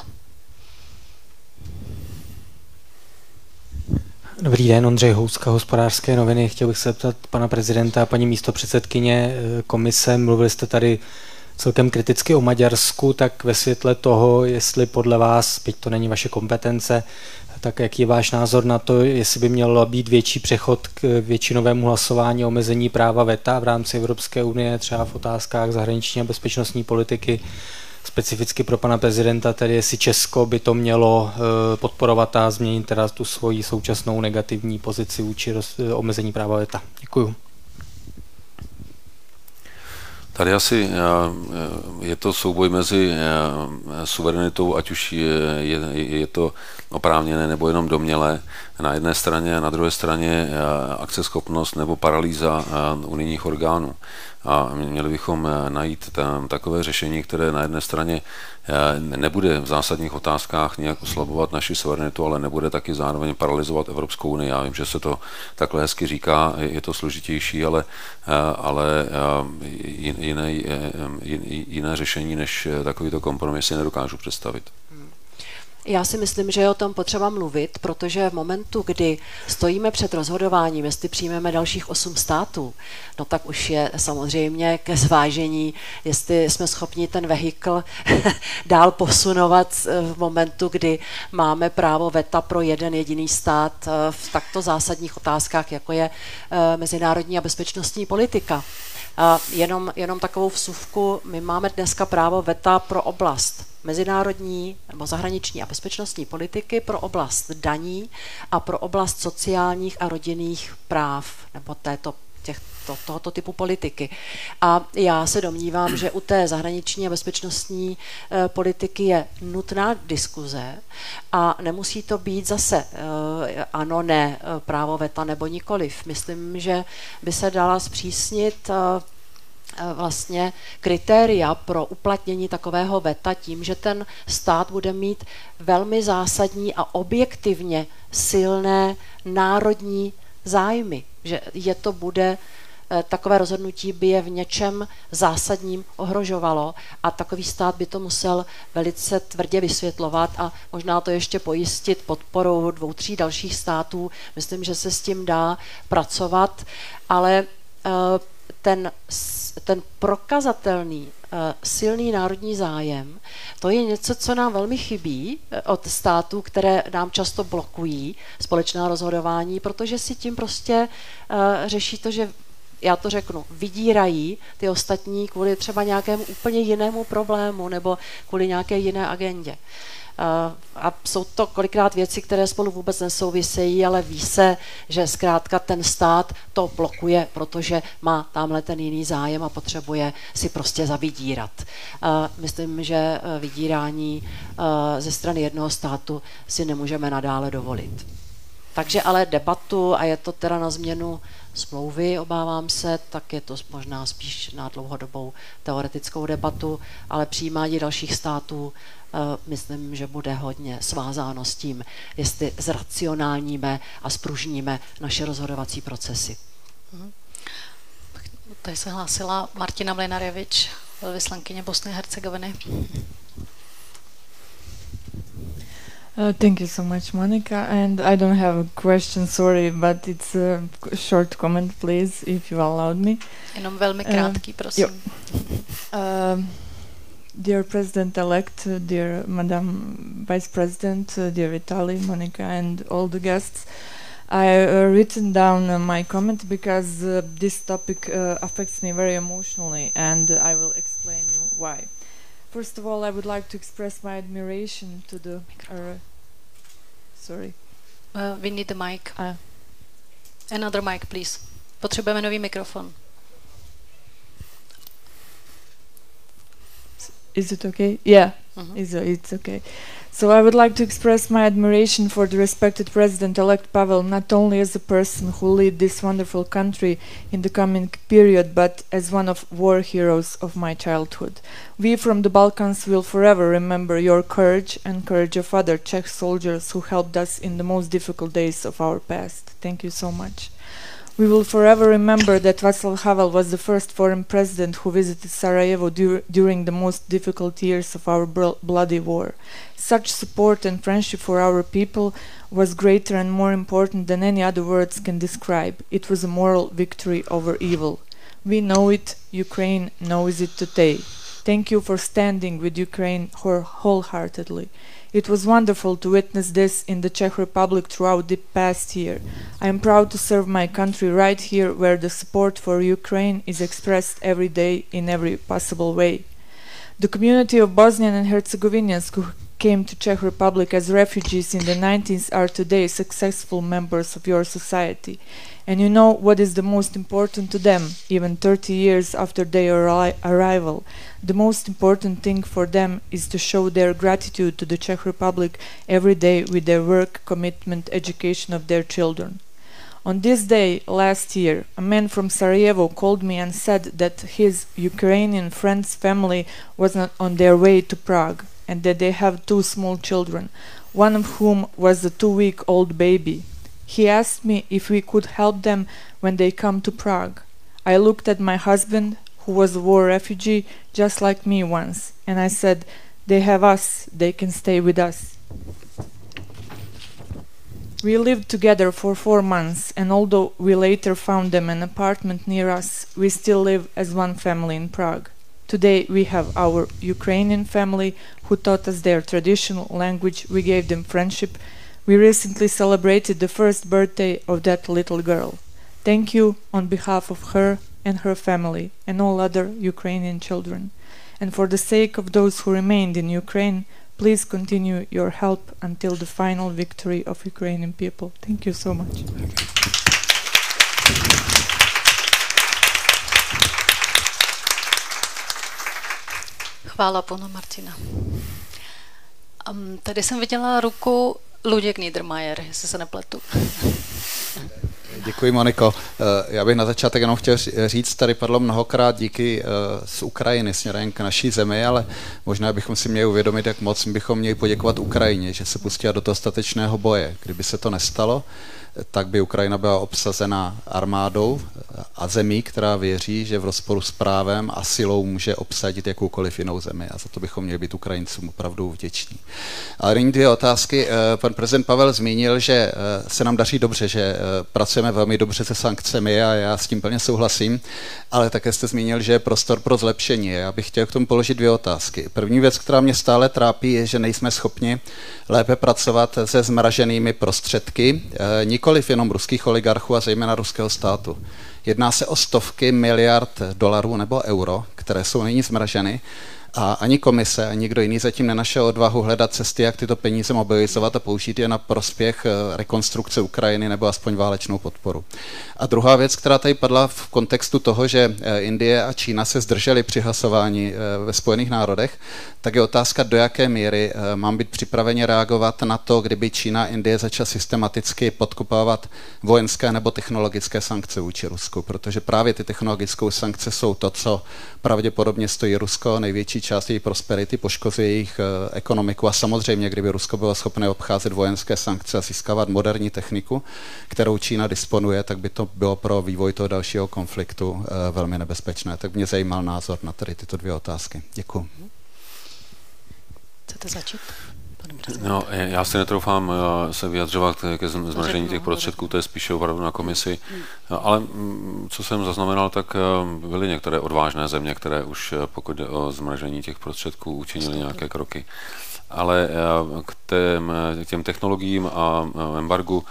Dobrý den, Ondřej Houska, Hospodářské noviny. Chtěl bych se zeptat pana prezidenta a paní místopředsedkyně komise. Mluvili jste tady celkem kriticky o Maďarsku, tak ve světle toho, jestli podle vás, byť to není vaše kompetence, tak jaký je váš názor na to, jestli by měl být větší přechod k většinovému hlasování o omezení práva veta v rámci Evropské unie, třeba v otázkách zahraniční a bezpečnostní politiky, specificky pro pana prezidenta, tedy jestli Česko by to mělo podporovat a změnit teda tu svoji současnou negativní pozici vůči omezení práva veta. Děkuju. Tady asi je to souboj mezi suverenitou, ať už je to oprávněné nebo jenom domnělé na jedné straně a na druhé straně akceschopnost nebo paralýza unijních orgánů. A měli bychom najít takové řešení, které na jedné straně nebude v zásadních otázkách nějak oslabovat naši suverenitu, ale nebude taky zároveň paralyzovat Evropskou unii. Já vím, že se to takhle hezky říká, je to složitější, ale jiné řešení než takovýto kompromis si nedokážu představit. Já si myslím, že je o tom potřeba mluvit, protože v momentu, kdy stojíme před rozhodováním, jestli přijmeme dalších 8 států, no tak už je samozřejmě ke zvážení, jestli jsme schopni ten vehikl dál posunovat v momentu, kdy máme právo veta pro jeden jediný stát v takto zásadních otázkách, jako je mezinárodní a bezpečnostní politika. A jenom takovou vsuvku, my máme dneska právo veta pro oblast mezinárodní nebo zahraniční a bezpečnostní politiky, pro oblast daní a pro oblast sociálních a rodinných práv nebo tohoto typu politiky. A já se domnívám, že u té zahraniční a bezpečnostní politiky je nutná diskuze a nemusí to být zase ano, ne, právo veta nebo nikoliv. Myslím, že by se dala zpřísnit vlastně kritéria pro uplatnění takového veta tím, že ten stát bude mít velmi zásadní a objektivně silné národní zájmy, že takové rozhodnutí by je v něčem zásadním ohrožovalo a takový stát by to musel velice tvrdě vysvětlovat a možná to ještě pojistit podporou 2-3 dalších států. Myslím, že se s tím dá pracovat, ale ten prokazatelný silný národní zájem, to je něco, co nám velmi chybí od států, které nám často blokují společná rozhodování, protože si tím prostě řeší to, že já to řeknu, vydírají ty ostatní kvůli třeba nějakému úplně jinému problému nebo kvůli nějaké jiné agendě. A jsou to kolikrát věci, které spolu vůbec nesouvisejí, ale ví se, že zkrátka ten stát to blokuje, protože má tamhle ten jiný zájem a potřebuje si prostě zavydírat. Myslím, že vydírání ze strany jednoho státu si nemůžeme nadále dovolit. Takže ale debatu, a je to teda na změnu smlouvy, obávám se, tak je to možná spíš na dlouhodobou teoretickou debatu, ale přijímání dalších států myslím, že bude hodně svázáno s tím, jestli zracionálníme a spružníme naše rozhodovací procesy. Tady se hlásila Martina Mlynarevič, velvyslankyně Bosny a Hercegoviny. Thank you so much, Monica. And I don't have a question, sorry, but it's a short comment, please, if you allowed me. Jenom velmi krátký, prosím. Dear President-elect, dear Madam Vice President, dear Vitali, Monica, and all the guests, I written down my comment because this topic affects me very emotionally, and I will explain you why. First of all, I would like to express my admiration to the... sorry. We need the mic. Another mic, please. Potřebujeme nový mikrofon. Is it okay? Yeah, it's okay. So I would like to express my admiration for the respected President-elect Pavel, not only as a person who lead this wonderful country in the coming period, but as one of war heroes of my childhood. We from the Balkans will forever remember your courage and courage of other Czech soldiers who helped us in the most difficult days of our past. Thank you so much. We will forever remember that Václav Havel was the first foreign president who visited Sarajevo during the most difficult years of our bloody war. Such support and friendship for our people was greater and more important than any other words can describe. It was a moral victory over evil. We know it, Ukraine knows it today. Thank you for standing with Ukraine wholeheartedly. It was wonderful to witness this in the Czech Republic throughout the past year. I am proud to serve my country right here where the support for Ukraine is expressed every day in every possible way. The community of Bosnian and Herzegovinians who came to Czech Republic as refugees in the 90s are today successful members of your society. And you know what is the most important to them, even 30 years after their arrival. The most important thing for them is to show their gratitude to the Czech Republic every day with their work, commitment, education of their children. On this day last year, a man from Sarajevo called me and said that his Ukrainian friend's family was not on their way to Prague and that they have 2 small children, one of whom was a 2-week-old baby. He asked me if we could help them when they come to Prague. I looked at my husband, who was a war refugee just like me once, and I said, they have us, they can stay with us. We lived together for 4 months, and although we later found them an apartment near us, we still live as one family in Prague. Today we have our Ukrainian family who taught us their traditional language, we gave them friendship. We recently celebrated the first birthday of that little girl. Thank you on behalf of her and her family and all other Ukrainian children. And for the sake of those who remained in Ukraine, please continue your help until the final victory of Ukrainian people. Thank you so much. Chvála Pánu Martina. Tady jsem viděla ruku Luděk Niedermayer, jestli se nepletu. Děkuji, Moniko. Já bych na začátek jenom chtěl říct, tady padlo mnohokrát díky z Ukrajiny směrem k naší zemi, ale možná bychom si měli uvědomit, jak moc bychom měli poděkovat Ukrajině, že se pustila do toho statečného boje. Kdyby se to nestalo, tak by Ukrajina byla obsazena armádou a zemí, která věří, že v rozporu s právem a silou může obsadit jakoukoliv jinou zemi. A za to bychom měli být Ukrajincům opravdu vděční. Ale nyní 2 otázky. Pan prezident Pavel zmínil, že se nám daří dobře, že pracujeme velmi dobře se sankcemi a já s tím plně souhlasím, ale také jste zmínil, že je prostor pro zlepšení. Já bych chtěl k tomu položit 2 otázky. První věc, která mě stále trápí, je, že nejsme schopni lépe pracovat se zmraženými prostředky, nikoliv jenom ruských oligarchů a zejména ruského státu. Jedná se o stovky miliard dolarů nebo euro, které jsou nyní zmraženy a ani komise, ani nikdo jiný zatím nenašel odvahu hledat cesty, jak tyto peníze mobilizovat a použít je na prospěch rekonstrukce Ukrajiny nebo aspoň válečnou podporu. A druhá věc, která tady padla v kontextu toho, že Indie a Čína se zdržely při hlasování ve Spojených národech, tak je otázka, do jaké míry mám být připraveni reagovat na to, kdyby Čína a Indie začala systematicky podkopávat vojenské nebo technologické sankce vůči Rusku, protože právě ty technologické sankce jsou to, co pravděpodobně stojí Rusko, největší část její prosperity, poškozuje jejich ekonomiku a samozřejmě, kdyby Rusko bylo schopné obcházet vojenské sankce a získávat moderní techniku, kterou Čína disponuje, tak by to bylo pro vývoj toho dalšího konfliktu velmi nebezpečné. Tak mě zajímal názor na tady tyto 2 otázky. Děkuji. Chcete začít? No, já si netroufám se vyjadřovat ke zmražení těch prostředků, to je spíše opravdu na komisi, ale co jsem zaznamenal, tak byly některé odvážné země, které už pokud jde o zmražení těch prostředků učinily nějaké kroky. Ale k těm technologiím a embargu,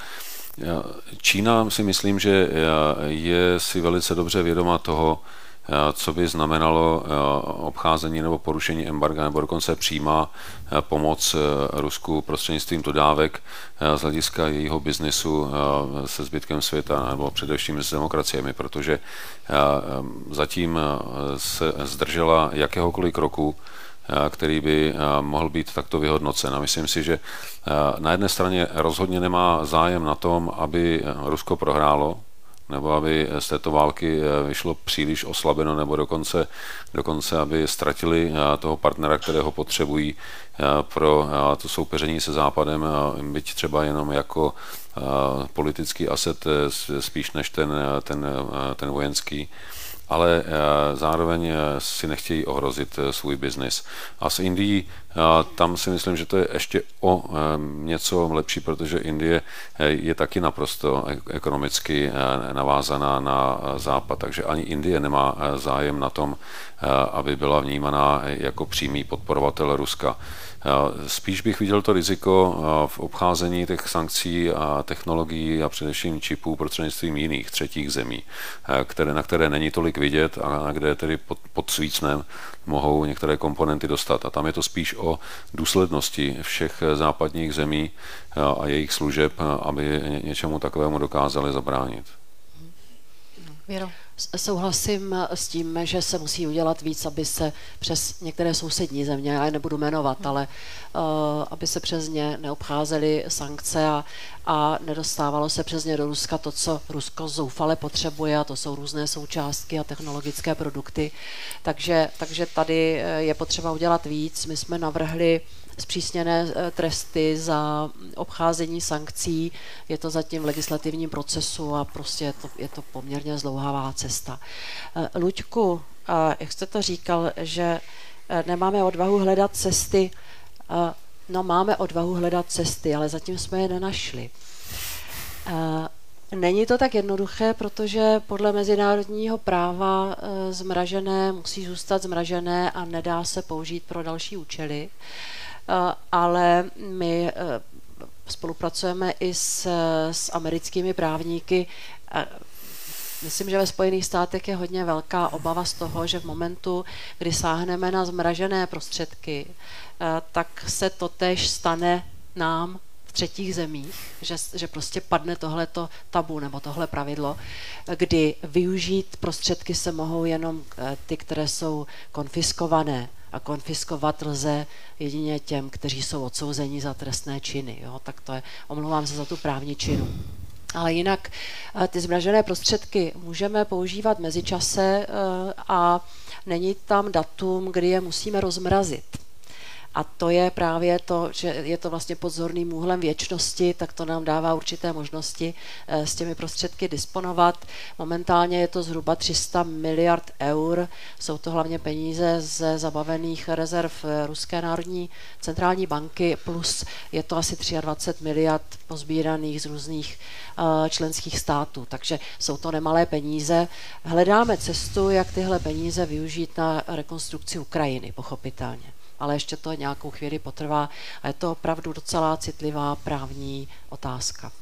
Čína si myslím, že je si velice dobře vědoma toho, co by znamenalo obcházení nebo porušení embarga, nebo dokonce přímá pomoc Rusku prostřednictvím dodávek z hlediska jejího biznisu se zbytkem světa, nebo především s demokraciemi, protože zatím se zdržela jakéhokoliv kroku, který by mohl být takto vyhodnocen. A myslím si, že na jedné straně rozhodně nemá zájem na tom, aby Rusko prohrálo, nebo aby z této války vyšlo příliš oslabeno, nebo dokonce aby ztratili toho partnera, kterého potřebují pro to soupeření se Západem, byť třeba jenom jako politický aset spíš než ten vojenský, ale zároveň si nechtějí ohrozit svůj biznis. A s Indií, tam si myslím, že to je ještě o něco lepší, protože Indie je taky naprosto ekonomicky navázaná na Západ, takže ani Indie nemá zájem na tom, aby byla vnímaná jako přímý podporovatel Ruska. Spíš bych viděl to riziko v obcházení těch sankcí a technologií a především čipů prostřednictvím jiných třetích zemí, na které není tolik vidět a kde tedy pod svícnem mohou některé komponenty dostat. A tam je to spíš o důslednosti všech západních zemí a jejich služeb, aby něčemu takovému dokázali zabránit. Věro. Souhlasím s tím, že se musí udělat víc, aby se přes některé sousední země, já je nebudu jmenovat, ale aby se přes ně neobcházely sankce a nedostávalo se přes ně do Ruska to, co Rusko zoufale potřebuje, a to jsou různé součástky a technologické produkty. Takže tady je potřeba udělat víc. My jsme navrhli zpřísněné tresty za obcházení sankcí. Je to zatím v legislativním procesu a prostě je to poměrně zdlouhavá cesta. Luďku, jak jste to říkal, že nemáme odvahu hledat cesty, no máme odvahu hledat cesty, ale zatím jsme je nenašli. Není to tak jednoduché, protože podle mezinárodního práva zmražené musí zůstat zmražené a nedá se použít pro další účely. Ale my spolupracujeme i s americkými právníky. Myslím, že ve Spojených státech je hodně velká obava z toho, že v momentu, kdy sáhneme na zmražené prostředky, tak se totéž stane nám v třetích zemích, že prostě padne tohleto tabu nebo tohle pravidlo, kdy využít prostředky se mohou jenom ty, které jsou konfiskované. A konfiskovat lze jedině těm, kteří jsou odsouzeni za trestné činy. Jo? Tak to je, omlouvám se za tu právničinu. Ale jinak ty zmražené prostředky můžeme používat mezičase a není tam datum, kdy je musíme rozmrazit. A to je právě to, že je to vlastně pod zorným úhlem věčnosti, tak to nám dává určité možnosti s těmi prostředky disponovat. Momentálně je to zhruba 300 miliard eur. Jsou to hlavně peníze ze zabavených rezerv Ruské národní centrální banky, plus je to asi 23 miliard pozbíraných z různých členských států. Takže jsou to nemalé peníze. Hledáme cestu, jak tyhle peníze využít na rekonstrukci Ukrajiny, pochopitelně. Ale ještě to nějakou chvíli potrvá a je to opravdu docela citlivá právní otázka.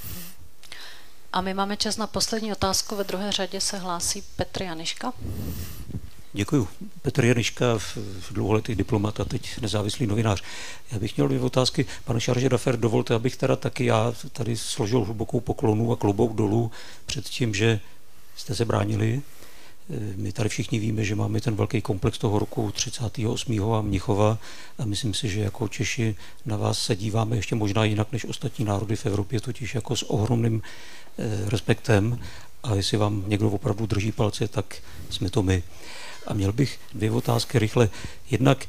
A my máme čas na poslední otázku. Ve druhé řadě se hlásí Petr Janiška. Děkuju. Petr Janiška, dlouholetý diplomat a teď nezávislý novinář. Já bych měl 2 otázky. Pane Charge d'Affaires, dovolte, abych teda taky já tady složil hlubokou poklonu a klobouk dolů před tím, že jste se bránili. My tady všichni víme, že máme ten velký komplex toho roku 38. a Mnichova a myslím si, že jako Češi na vás se díváme ještě možná jinak než ostatní národy v Evropě, totiž jako s ohromným respektem, a jestli vám někdo opravdu drží palce, tak jsme to my. A měl bych 2 otázky rychle. Jednak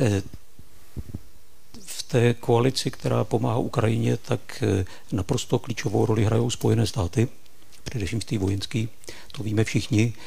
v té koalici, která pomáhá Ukrajině, tak naprosto klíčovou roli hrajou Spojené státy, především v té vojenské, to víme všichni.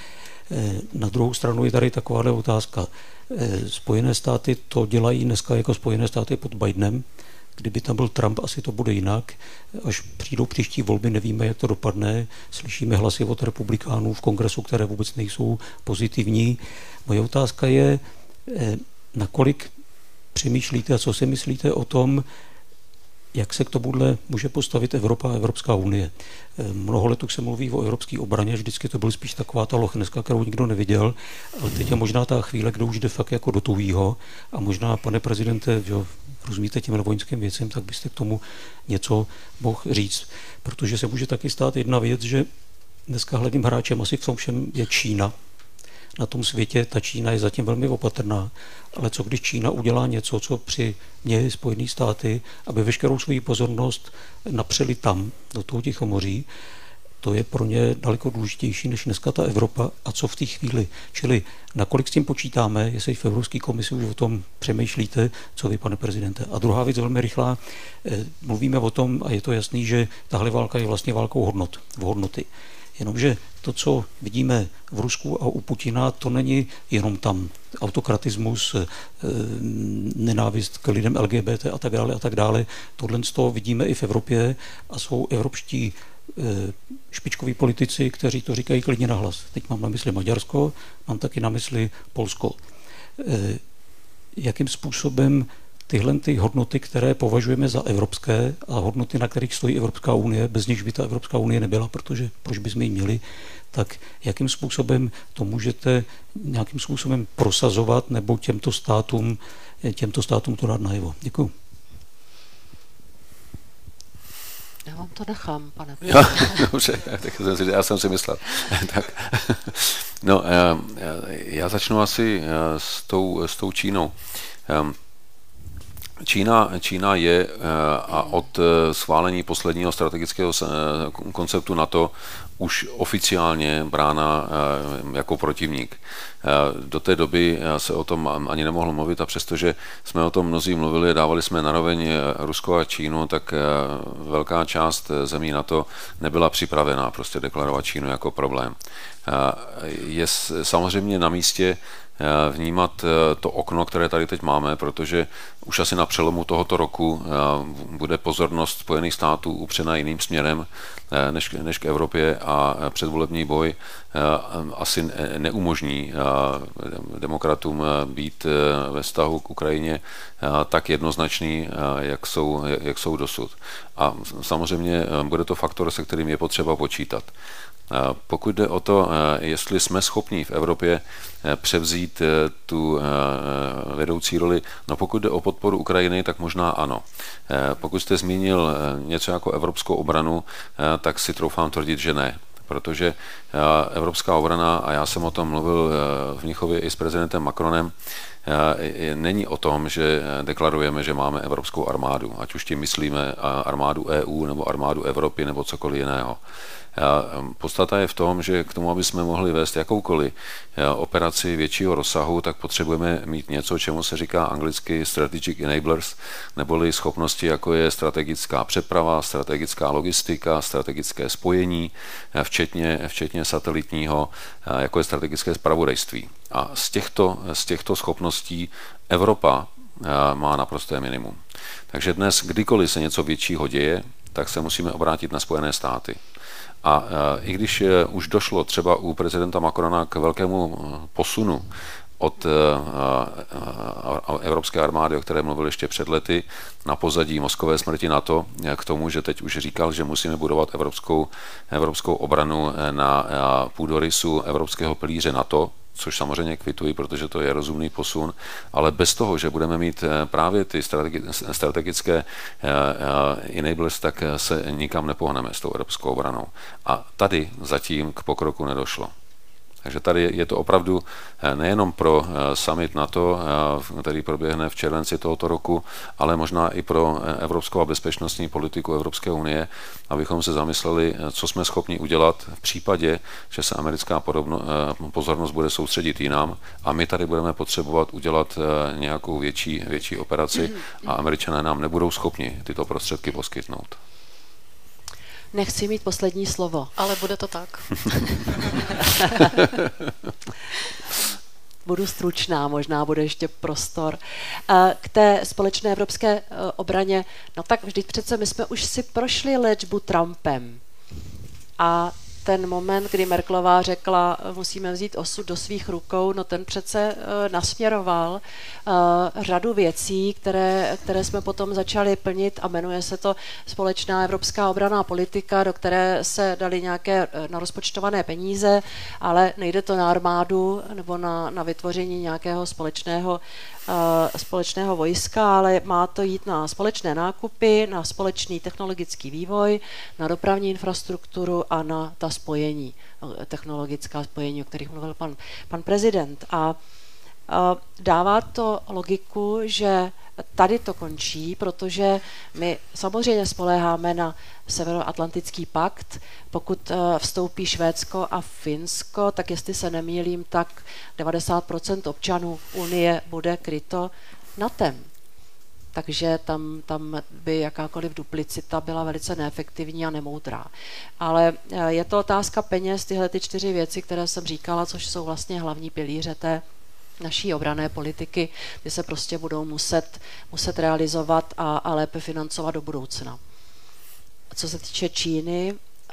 Na druhou stranu je tady taková otázka. Spojené státy to dělají dneska jako Spojené státy pod Bidenem. Kdyby tam byl Trump, asi to bude jinak. Až přijdou příští volby, nevíme, jak to dopadne. Slyšíme hlasy od republikánů v kongresu, které vůbec nejsou pozitivní. Moje otázka je, nakolik přemýšlíte a co si myslíte o tom, jak se k tomuhle může postavit Evropa a Evropská unie. Mnoho let už se mluví o evropské obraně, vždycky to byl spíš taková ta lochneska, kterou nikdo neviděl, ale teď je možná ta chvíle, kdo už jde fakt jako do tuhýho a možná, pane prezidente, rozumíte těm vojenským věcem, tak byste k tomu něco mohl říct. Protože se může taky stát jedna věc, že dneska hlavním hráčem asi v tom všem je Čína. Na tom světě ta Čína je zatím velmi opatrná, ale co když Čína udělá něco, co při mě Spojené státy, aby veškerou svou pozornost napřeli tam, do toho Tichomoří, to je pro ně daleko důležitější než dneska ta Evropa a co v té chvíli. Čili nakolik s tím počítáme, jestli v Evropské komisi už o tom přemýšlíte, co vy, pane prezidente. A druhá věc velmi rychlá, mluvíme o tom a je to jasný, že tahle válka je vlastně válkou hodnoty. Jenomže to, co vidíme v Rusku a u Putina, to není jenom tam autokratismus, nenávist k lidem LGBT a tak dále. Tohle z toho vidíme i v Evropě a jsou evropští špičkoví politici, kteří to říkají klidně nahlas. Teď mám na mysli Maďarsko, mám taky na mysli Polsko. Jakým způsobem tyhle ty hodnoty, které považujeme za evropské a hodnoty, na kterých stojí Evropská unie, bez nichž by ta Evropská unie nebyla, protože proč bychom ji měli, tak jakým způsobem to můžete nějakým způsobem prosazovat nebo těmto státům to dát najevo. Děkuju. Já vám to nechám, pane. Dobře, já jsem si myslel. Tak. No, já začnu asi s tou Čínou. Čína je a od schválení posledního strategického konceptu NATO už oficiálně brána jako protivník. Do té doby se o tom ani nemohlo mluvit a přestože jsme o tom mnozí mluvili, dávali jsme naroveň Rusko a Čínu, tak velká část zemí NATO nebyla připravená prostě deklarovat Čínu jako problém. Je samozřejmě na místě vnímat to okno, které tady teď máme, protože už asi na přelomu tohoto roku bude pozornost Spojených států upřena jiným směrem než k Evropě a předvolební boj asi neumožní demokratům být ve vztahu k Ukrajině tak jednoznačný, jak jsou dosud. A samozřejmě bude to faktor, se kterým je potřeba počítat. Pokud jde o to, jestli jsme schopni v Evropě převzít tu vedoucí roli, no pokud jde o podporu Ukrajiny, tak možná ano. Pokud jste zmínil něco jako evropskou obranu, tak si troufám tvrdit, že ne. Protože evropská obrana, a já jsem o tom mluvil v Mnichově i s prezidentem Macronem, není o tom, že deklarujeme, že máme evropskou armádu, ať už tím myslíme armádu EU nebo armádu Evropy nebo cokoliv jiného. Podstata je v tom, že k tomu, aby jsme mohli vést jakoukoliv operaci většího rozsahu, tak potřebujeme mít něco, čemu se říká anglicky strategic enablers, neboli schopnosti, jako je strategická přeprava, strategická logistika, strategické spojení, včetně satelitního, jako je strategické zpravodajství. A z těchto schopností Evropa má naprosté minimum. Takže dnes, kdykoliv se něco většího děje, tak se musíme obrátit na Spojené státy. A i když už došlo třeba u prezidenta Macrona k velkému posunu od evropské armády, o které mluvil ještě před lety, na pozadí mozkové smrti NATO, k tomu, že teď už říkal, že musíme budovat evropskou obranu na půdorysu evropského pilíře NATO, což samozřejmě kvituji, protože to je rozumný posun, ale bez toho, že budeme mít právě ty strategické enablers, tak se nikam nepohneme s tou evropskou obranou. A tady zatím k pokroku nedošlo. Takže tady je to opravdu nejenom pro summit NATO, který proběhne v červenci tohoto roku, ale možná i pro evropskou a bezpečnostní politiku Evropské unie, abychom se zamysleli, co jsme schopni udělat v případě, že se americká pozornost bude soustředit jinam a my tady budeme potřebovat udělat nějakou větší operaci a Američané nám nebudou schopni tyto prostředky poskytnout. nechci mít poslední slovo. Ale bude to tak. Budu stručná, možná bude ještě prostor. K té společné evropské obraně, no tak vždyť přece my jsme už si prošli léčbu Trumpem. A ten moment, kdy Merkelová řekla, musíme vzít osud do svých rukou, no ten přece nasměroval řadu věcí, které jsme potom začali plnit a jmenuje se to společná evropská obranná politika, do které se dali nějaké narozpočtované peníze, ale nejde to na armádu nebo na vytvoření nějakého společného vojska, ale má to jít na společné nákupy, na společný technologický vývoj, na dopravní infrastrukturu a na ta spojení, technologická spojení, o kterých mluvil pan prezident. A dává to logiku, že tady to končí, protože my samozřejmě spoléháme na Severoatlantický pakt. Pokud vstoupí Švédsko a Finsko, tak jestli se nemýlím, tak 90% občanů Unie bude kryto NATOem. Takže tam by jakákoliv duplicita byla velice neefektivní a nemoudrá. Ale je to otázka peněz, tyhle ty 4 věci, které jsem říkala, což jsou vlastně hlavní pilíře té naší obranné politiky, ty se prostě budou muset realizovat a lépe financovat do budoucna. Co se týče Číny,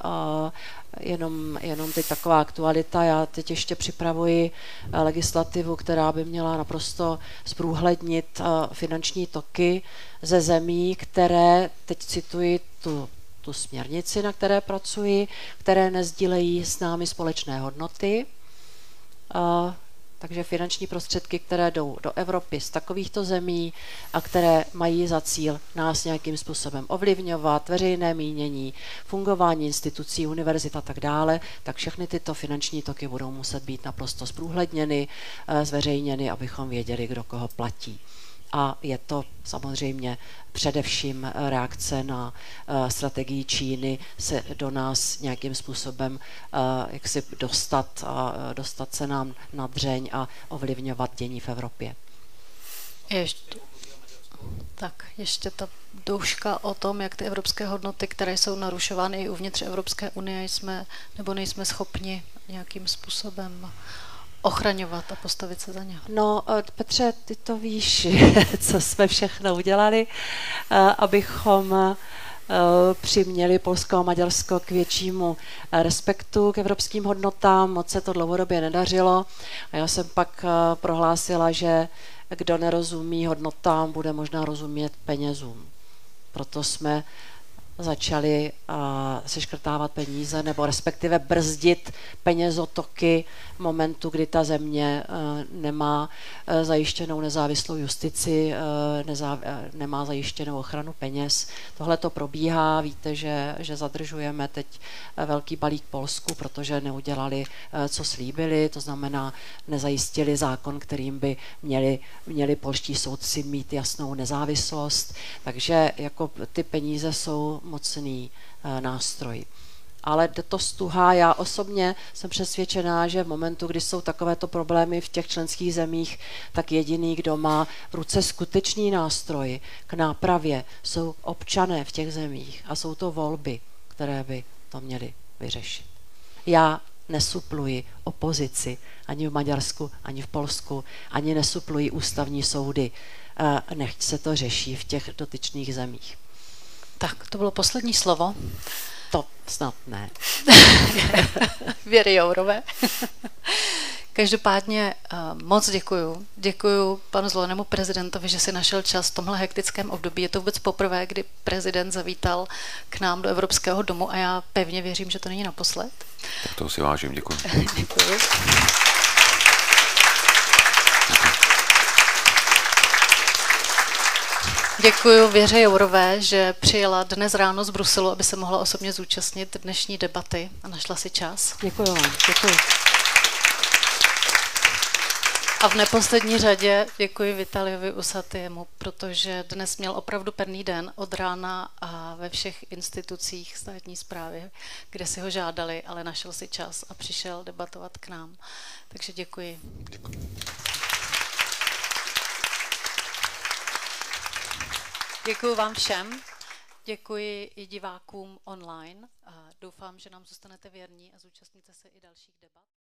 jenom teď taková aktualita, já teď ještě připravuji legislativu, která by měla naprosto zprůhlednit finanční toky ze zemí, které, teď cituji tu směrnici, na které pracuji, které nesdílejí s námi společné hodnoty, takže finanční prostředky, které jdou do Evropy z takovýchto zemí a které mají za cíl nás nějakým způsobem ovlivňovat, veřejné mínění, fungování institucí, univerzit a tak dále, tak všechny tyto finanční toky budou muset být naprosto zprůhledněny, zveřejněny, abychom věděli, kdo koho platí. A je to samozřejmě především reakce na strategii Číny se do nás nějakým způsobem jak si dostat se nám na dřeň a ovlivňovat dění v Evropě. Ještě ta douška o tom, jak ty evropské hodnoty, které jsou narušovány i uvnitř Evropské unie, nejsme schopni nějakým způsobem ochraňovat a postavit se za ně. No, Petře, ty to víš, co jsme všechno udělali, abychom přiměli Polsko a Maďarsko k většímu respektu k evropským hodnotám. Moc se to dlouhodobě nedařilo. A já jsem pak prohlásila, že kdo nerozumí hodnotám, bude možná rozumět penězům. Proto jsme začali seškrtávat peníze nebo respektive brzdit penězotoky v momentu, kdy ta země nemá zajištěnou nezávislou justici, nemá zajištěnou ochranu peněz. Tohle to probíhá, víte, že zadržujeme teď velký balík Polsku, protože neudělali, co slíbili, to znamená nezajistili zákon, kterým by měli polští soudci mít jasnou nezávislost, takže jako ty peníze jsou mocný nástroj. Ale jde to stuha. Já osobně jsem přesvědčená, že v momentu, kdy jsou takovéto problémy v těch členských zemích, tak jediný, kdo má v ruce skutečný nástroj k nápravě, jsou občané v těch zemích a jsou to volby, které by to měly vyřešit. Já nesupluji opozici ani v Maďarsku, ani v Polsku, ani nesupluji ústavní soudy. Nechť se to řeší v těch dotyčných zemích. Tak, to bylo poslední slovo. To snad ne. Věry Jourové. Každopádně moc děkuju. Děkuju panu zvolenému prezidentovi, že si našel čas v tomhle hektickém období. Je to vůbec poprvé, kdy prezident zavítal k nám do Evropského domu a já pevně věřím, že to není naposled. Tak toho si vážím, děkuji. Děkuju. Děkuji Věře Jourové, že přijela dnes ráno z Bruselu, aby se mohla osobně zúčastnit dnešní debaty a našla si čas. Děkuji vám, děkuji. A v neposlední řadě děkuji Vitaliovi Usatyjemu, protože dnes měl opravdu pevný den od rána a ve všech institucích státní správy, kde si ho žádali, ale našel si čas a přišel debatovat k nám. Takže děkuji. Děkuji vám všem. Děkuji i divákům online a doufám, že nám zůstanete věrní a zúčastníte se i dalších debat.